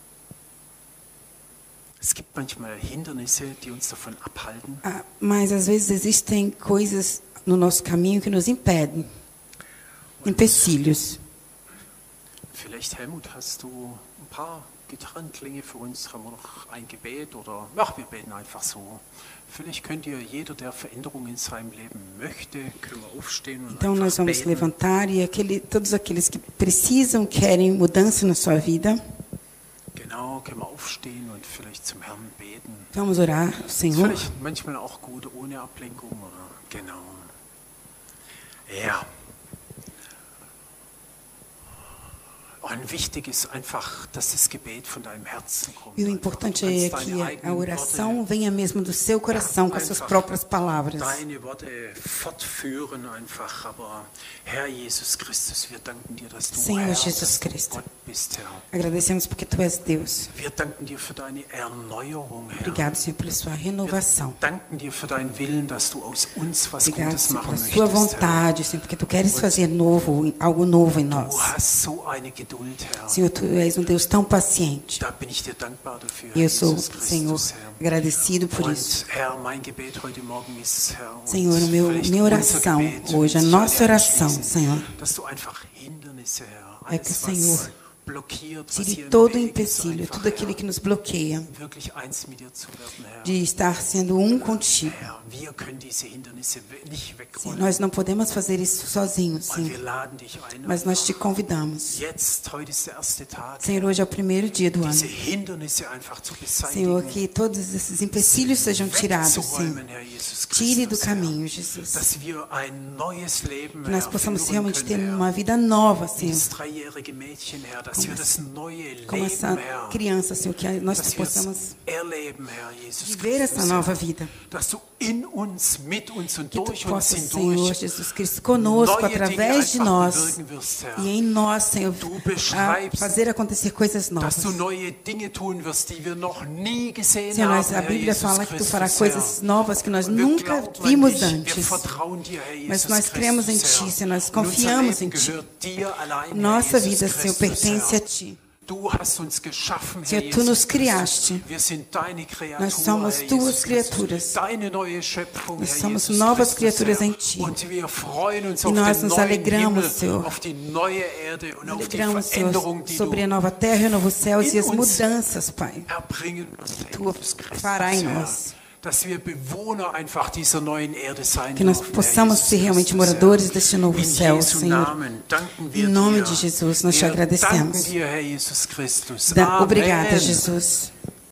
[SPEAKER 1] es gibt manchmal Hindernisse, die uns davon abhalten.
[SPEAKER 2] Mas às vezes existem coisas no nosso caminho que nos impedem, empecilhos.
[SPEAKER 1] Vielleicht, Helmut, hast du ein paar Gitarrenklänge für uns? Haben wir noch ein Gebet? Oder ach, wir beten einfach so. Vielleicht könnt ihr, jeder, der Veränderung in seinem Leben möchte, können wir aufstehen und
[SPEAKER 2] Então nós
[SPEAKER 1] einfach
[SPEAKER 2] vamos
[SPEAKER 1] beten.
[SPEAKER 2] levantar e todos aqueles que precisam, querem mudança na sua vida,
[SPEAKER 1] Genau, können wir aufstehen und vielleicht zum Herrn beten.
[SPEAKER 2] vamos orar ao
[SPEAKER 1] Ist
[SPEAKER 2] Senhor.
[SPEAKER 1] vielleicht manchmal auch gut, ohne Ablenkung, oder? Genau. Ja. Und wichtig ist einfach, dass das Gebet von deinem Herzen kommt.
[SPEAKER 2] E o importante é que a oração venha mesmo do seu coração, com as suas próprias palavras.
[SPEAKER 1] Deine Worte fortführen einfach. Aber Herr Jesus Christus, wir danken dir, dass du
[SPEAKER 2] Senhor
[SPEAKER 1] Herr,
[SPEAKER 2] Jesus
[SPEAKER 1] dass du
[SPEAKER 2] Cristo.
[SPEAKER 1] Gott bist, Herr.
[SPEAKER 2] Agradecemos porque Tu és Deus.
[SPEAKER 1] Wir danken dir für deine Erneuerung, Herr.
[SPEAKER 2] Obrigado, Senhor, pela sua renovação.
[SPEAKER 1] Danken dir für deinen Willen, dass du aus uns was
[SPEAKER 2] Obrigado,
[SPEAKER 1] Gutes
[SPEAKER 2] Senhor,
[SPEAKER 1] machen
[SPEAKER 2] pela sua
[SPEAKER 1] möchtest, Herr.
[SPEAKER 2] vontade, Senhor, porque Tu queres fazer novo, algo novo em nós.
[SPEAKER 1] Du hast so eine Geduld, Herr.
[SPEAKER 2] Senhor, Tu és um Deus tão paciente.
[SPEAKER 1] Da bin ich dir dankbar dafür,
[SPEAKER 2] E eu sou,
[SPEAKER 1] Jesus
[SPEAKER 2] Senhor,
[SPEAKER 1] Christus, Herr.
[SPEAKER 2] agradecido por isso.
[SPEAKER 1] Und Herr, mein Gebet heute Morgen ist, Herr, und
[SPEAKER 2] Senhor,
[SPEAKER 1] vielleicht
[SPEAKER 2] minha
[SPEAKER 1] unser
[SPEAKER 2] oração
[SPEAKER 1] Gebet,
[SPEAKER 2] hoje, a
[SPEAKER 1] sich
[SPEAKER 2] nossa
[SPEAKER 1] alle
[SPEAKER 2] oração,
[SPEAKER 1] anschließen,
[SPEAKER 2] Senhor,
[SPEAKER 1] dass du einfach Hindernisse, Herr,
[SPEAKER 2] é que o
[SPEAKER 1] alles,
[SPEAKER 2] Senhor
[SPEAKER 1] was blockiert, was
[SPEAKER 2] tire
[SPEAKER 1] hier im
[SPEAKER 2] todo o
[SPEAKER 1] Weg ist,
[SPEAKER 2] empecilho,
[SPEAKER 1] einfach,
[SPEAKER 2] tudo aquilo que nos bloqueia
[SPEAKER 1] wirklich eins mit dir zu werden, Herr.
[SPEAKER 2] de estar sendo contigo.
[SPEAKER 1] Herr, wir können diese Hindernisse nicht
[SPEAKER 2] Sim,
[SPEAKER 1] wegrollen.
[SPEAKER 2] nós não podemos fazer isso sozinhos,
[SPEAKER 1] Und wir
[SPEAKER 2] Senhor,
[SPEAKER 1] laden dich ein,
[SPEAKER 2] mas nós te convidamos.
[SPEAKER 1] jetzt, heute ist der erste Tag,
[SPEAKER 2] Senhor, hoje é o primeiro dia do
[SPEAKER 1] diese
[SPEAKER 2] ano.
[SPEAKER 1] Hindernisse einfach zu
[SPEAKER 2] Senhor,
[SPEAKER 1] beseitigen,
[SPEAKER 2] que todos esses empecilhos sejam tirados, Senhor.
[SPEAKER 1] wegzuräumen, Herr Jesus
[SPEAKER 2] Tire do
[SPEAKER 1] Christus, Herr.
[SPEAKER 2] caminho, Jesus.
[SPEAKER 1] Dass wir ein neues Leben,
[SPEAKER 2] Que nós
[SPEAKER 1] Herr,
[SPEAKER 2] possamos
[SPEAKER 1] führen
[SPEAKER 2] realmente ter
[SPEAKER 1] können, Herr.
[SPEAKER 2] uma vida nova, Senhor.
[SPEAKER 1] Das dreijährige Mädchen, Herr, dass wir das neue
[SPEAKER 2] Como
[SPEAKER 1] Leben,
[SPEAKER 2] essa
[SPEAKER 1] Herr,
[SPEAKER 2] criança, Senhor, que nós
[SPEAKER 1] dass wir es
[SPEAKER 2] possamos
[SPEAKER 1] erleben, Herr Jesus
[SPEAKER 2] viver essa
[SPEAKER 1] Christus,
[SPEAKER 2] nova
[SPEAKER 1] Herr.
[SPEAKER 2] vida.
[SPEAKER 1] Dass du in uns, mit uns und
[SPEAKER 2] Que Tu
[SPEAKER 1] durch uns
[SPEAKER 2] possas, Senhor
[SPEAKER 1] hindurch
[SPEAKER 2] Jesus Cristo, conosco,
[SPEAKER 1] neue Dinge
[SPEAKER 2] através de
[SPEAKER 1] einfach
[SPEAKER 2] nós
[SPEAKER 1] bewirken wirst, Herr.
[SPEAKER 2] e em nós, Senhor,
[SPEAKER 1] Du
[SPEAKER 2] a
[SPEAKER 1] beschreibst,
[SPEAKER 2] fazer acontecer coisas novas.
[SPEAKER 1] dass du neue Dinge tun wirst, die wir noch nie gesehen
[SPEAKER 2] Senhor,
[SPEAKER 1] haben,
[SPEAKER 2] a
[SPEAKER 1] Herr
[SPEAKER 2] Bíblia
[SPEAKER 1] Jesus
[SPEAKER 2] fala que Tu farás
[SPEAKER 1] Christus,
[SPEAKER 2] coisas
[SPEAKER 1] Herr.
[SPEAKER 2] novas que nós
[SPEAKER 1] Und wir
[SPEAKER 2] nunca
[SPEAKER 1] glauben an
[SPEAKER 2] vimos
[SPEAKER 1] dich, wir
[SPEAKER 2] antes.
[SPEAKER 1] vertrauen dir, Herr
[SPEAKER 2] Mas
[SPEAKER 1] Jesus
[SPEAKER 2] nós cremos em
[SPEAKER 1] Christus,
[SPEAKER 2] Ti,
[SPEAKER 1] Herr.
[SPEAKER 2] Senhor, nós
[SPEAKER 1] Und unser
[SPEAKER 2] confiamos
[SPEAKER 1] Leben
[SPEAKER 2] em Ti.
[SPEAKER 1] gehört dir allein,
[SPEAKER 2] Nossa
[SPEAKER 1] Herr
[SPEAKER 2] vida,
[SPEAKER 1] Jesus
[SPEAKER 2] Senhor,
[SPEAKER 1] Christus,
[SPEAKER 2] pertence
[SPEAKER 1] Herr.
[SPEAKER 2] a Ti.
[SPEAKER 1] Du hast uns geschaffen, Herr
[SPEAKER 2] Senhor, Tu
[SPEAKER 1] Jesus
[SPEAKER 2] nos
[SPEAKER 1] Christus.
[SPEAKER 2] criaste.
[SPEAKER 1] Wir sind deine Kreatur,
[SPEAKER 2] Nós somos
[SPEAKER 1] Herr
[SPEAKER 2] Tuas
[SPEAKER 1] Jesus
[SPEAKER 2] criaturas.
[SPEAKER 1] Christus. Deine neue Schöpfung,
[SPEAKER 2] Nós
[SPEAKER 1] Herr
[SPEAKER 2] somos
[SPEAKER 1] Jesus
[SPEAKER 2] novas
[SPEAKER 1] Christus,
[SPEAKER 2] criaturas
[SPEAKER 1] Herr.
[SPEAKER 2] em Ti.
[SPEAKER 1] Und wir freuen uns
[SPEAKER 2] E
[SPEAKER 1] auf
[SPEAKER 2] nós
[SPEAKER 1] den
[SPEAKER 2] nos
[SPEAKER 1] neuen
[SPEAKER 2] alegramos,
[SPEAKER 1] Himmel,
[SPEAKER 2] Senhor.
[SPEAKER 1] auf die neue Erde und auf die
[SPEAKER 2] Alegramos,
[SPEAKER 1] Veränderung,
[SPEAKER 2] Senhor,
[SPEAKER 1] die
[SPEAKER 2] sobre a
[SPEAKER 1] du
[SPEAKER 2] nova terra e o novo céu e as
[SPEAKER 1] in uns
[SPEAKER 2] mudanças, Pai.
[SPEAKER 1] erbringen wirst, Herr
[SPEAKER 2] Tu
[SPEAKER 1] Jesus Christus,
[SPEAKER 2] fará em
[SPEAKER 1] Herr.
[SPEAKER 2] nós.
[SPEAKER 1] Dass wir Bewohner einfach dieser neuen Erde sein
[SPEAKER 2] Que nós
[SPEAKER 1] dürfen,
[SPEAKER 2] possamos
[SPEAKER 1] Herr
[SPEAKER 2] ser
[SPEAKER 1] Jesus
[SPEAKER 2] realmente
[SPEAKER 1] Christus,
[SPEAKER 2] moradores
[SPEAKER 1] Herr.
[SPEAKER 2] deste novo
[SPEAKER 1] In
[SPEAKER 2] céu,
[SPEAKER 1] Jesu
[SPEAKER 2] Senhor.
[SPEAKER 1] Namen danken wir
[SPEAKER 2] Em nome
[SPEAKER 1] dir.
[SPEAKER 2] de Jesus, nós te
[SPEAKER 1] Wir
[SPEAKER 2] agradecemos.
[SPEAKER 1] danken dir, Herr Jesus Christus.
[SPEAKER 2] Obrigada,
[SPEAKER 1] Amen.
[SPEAKER 2] Jesus.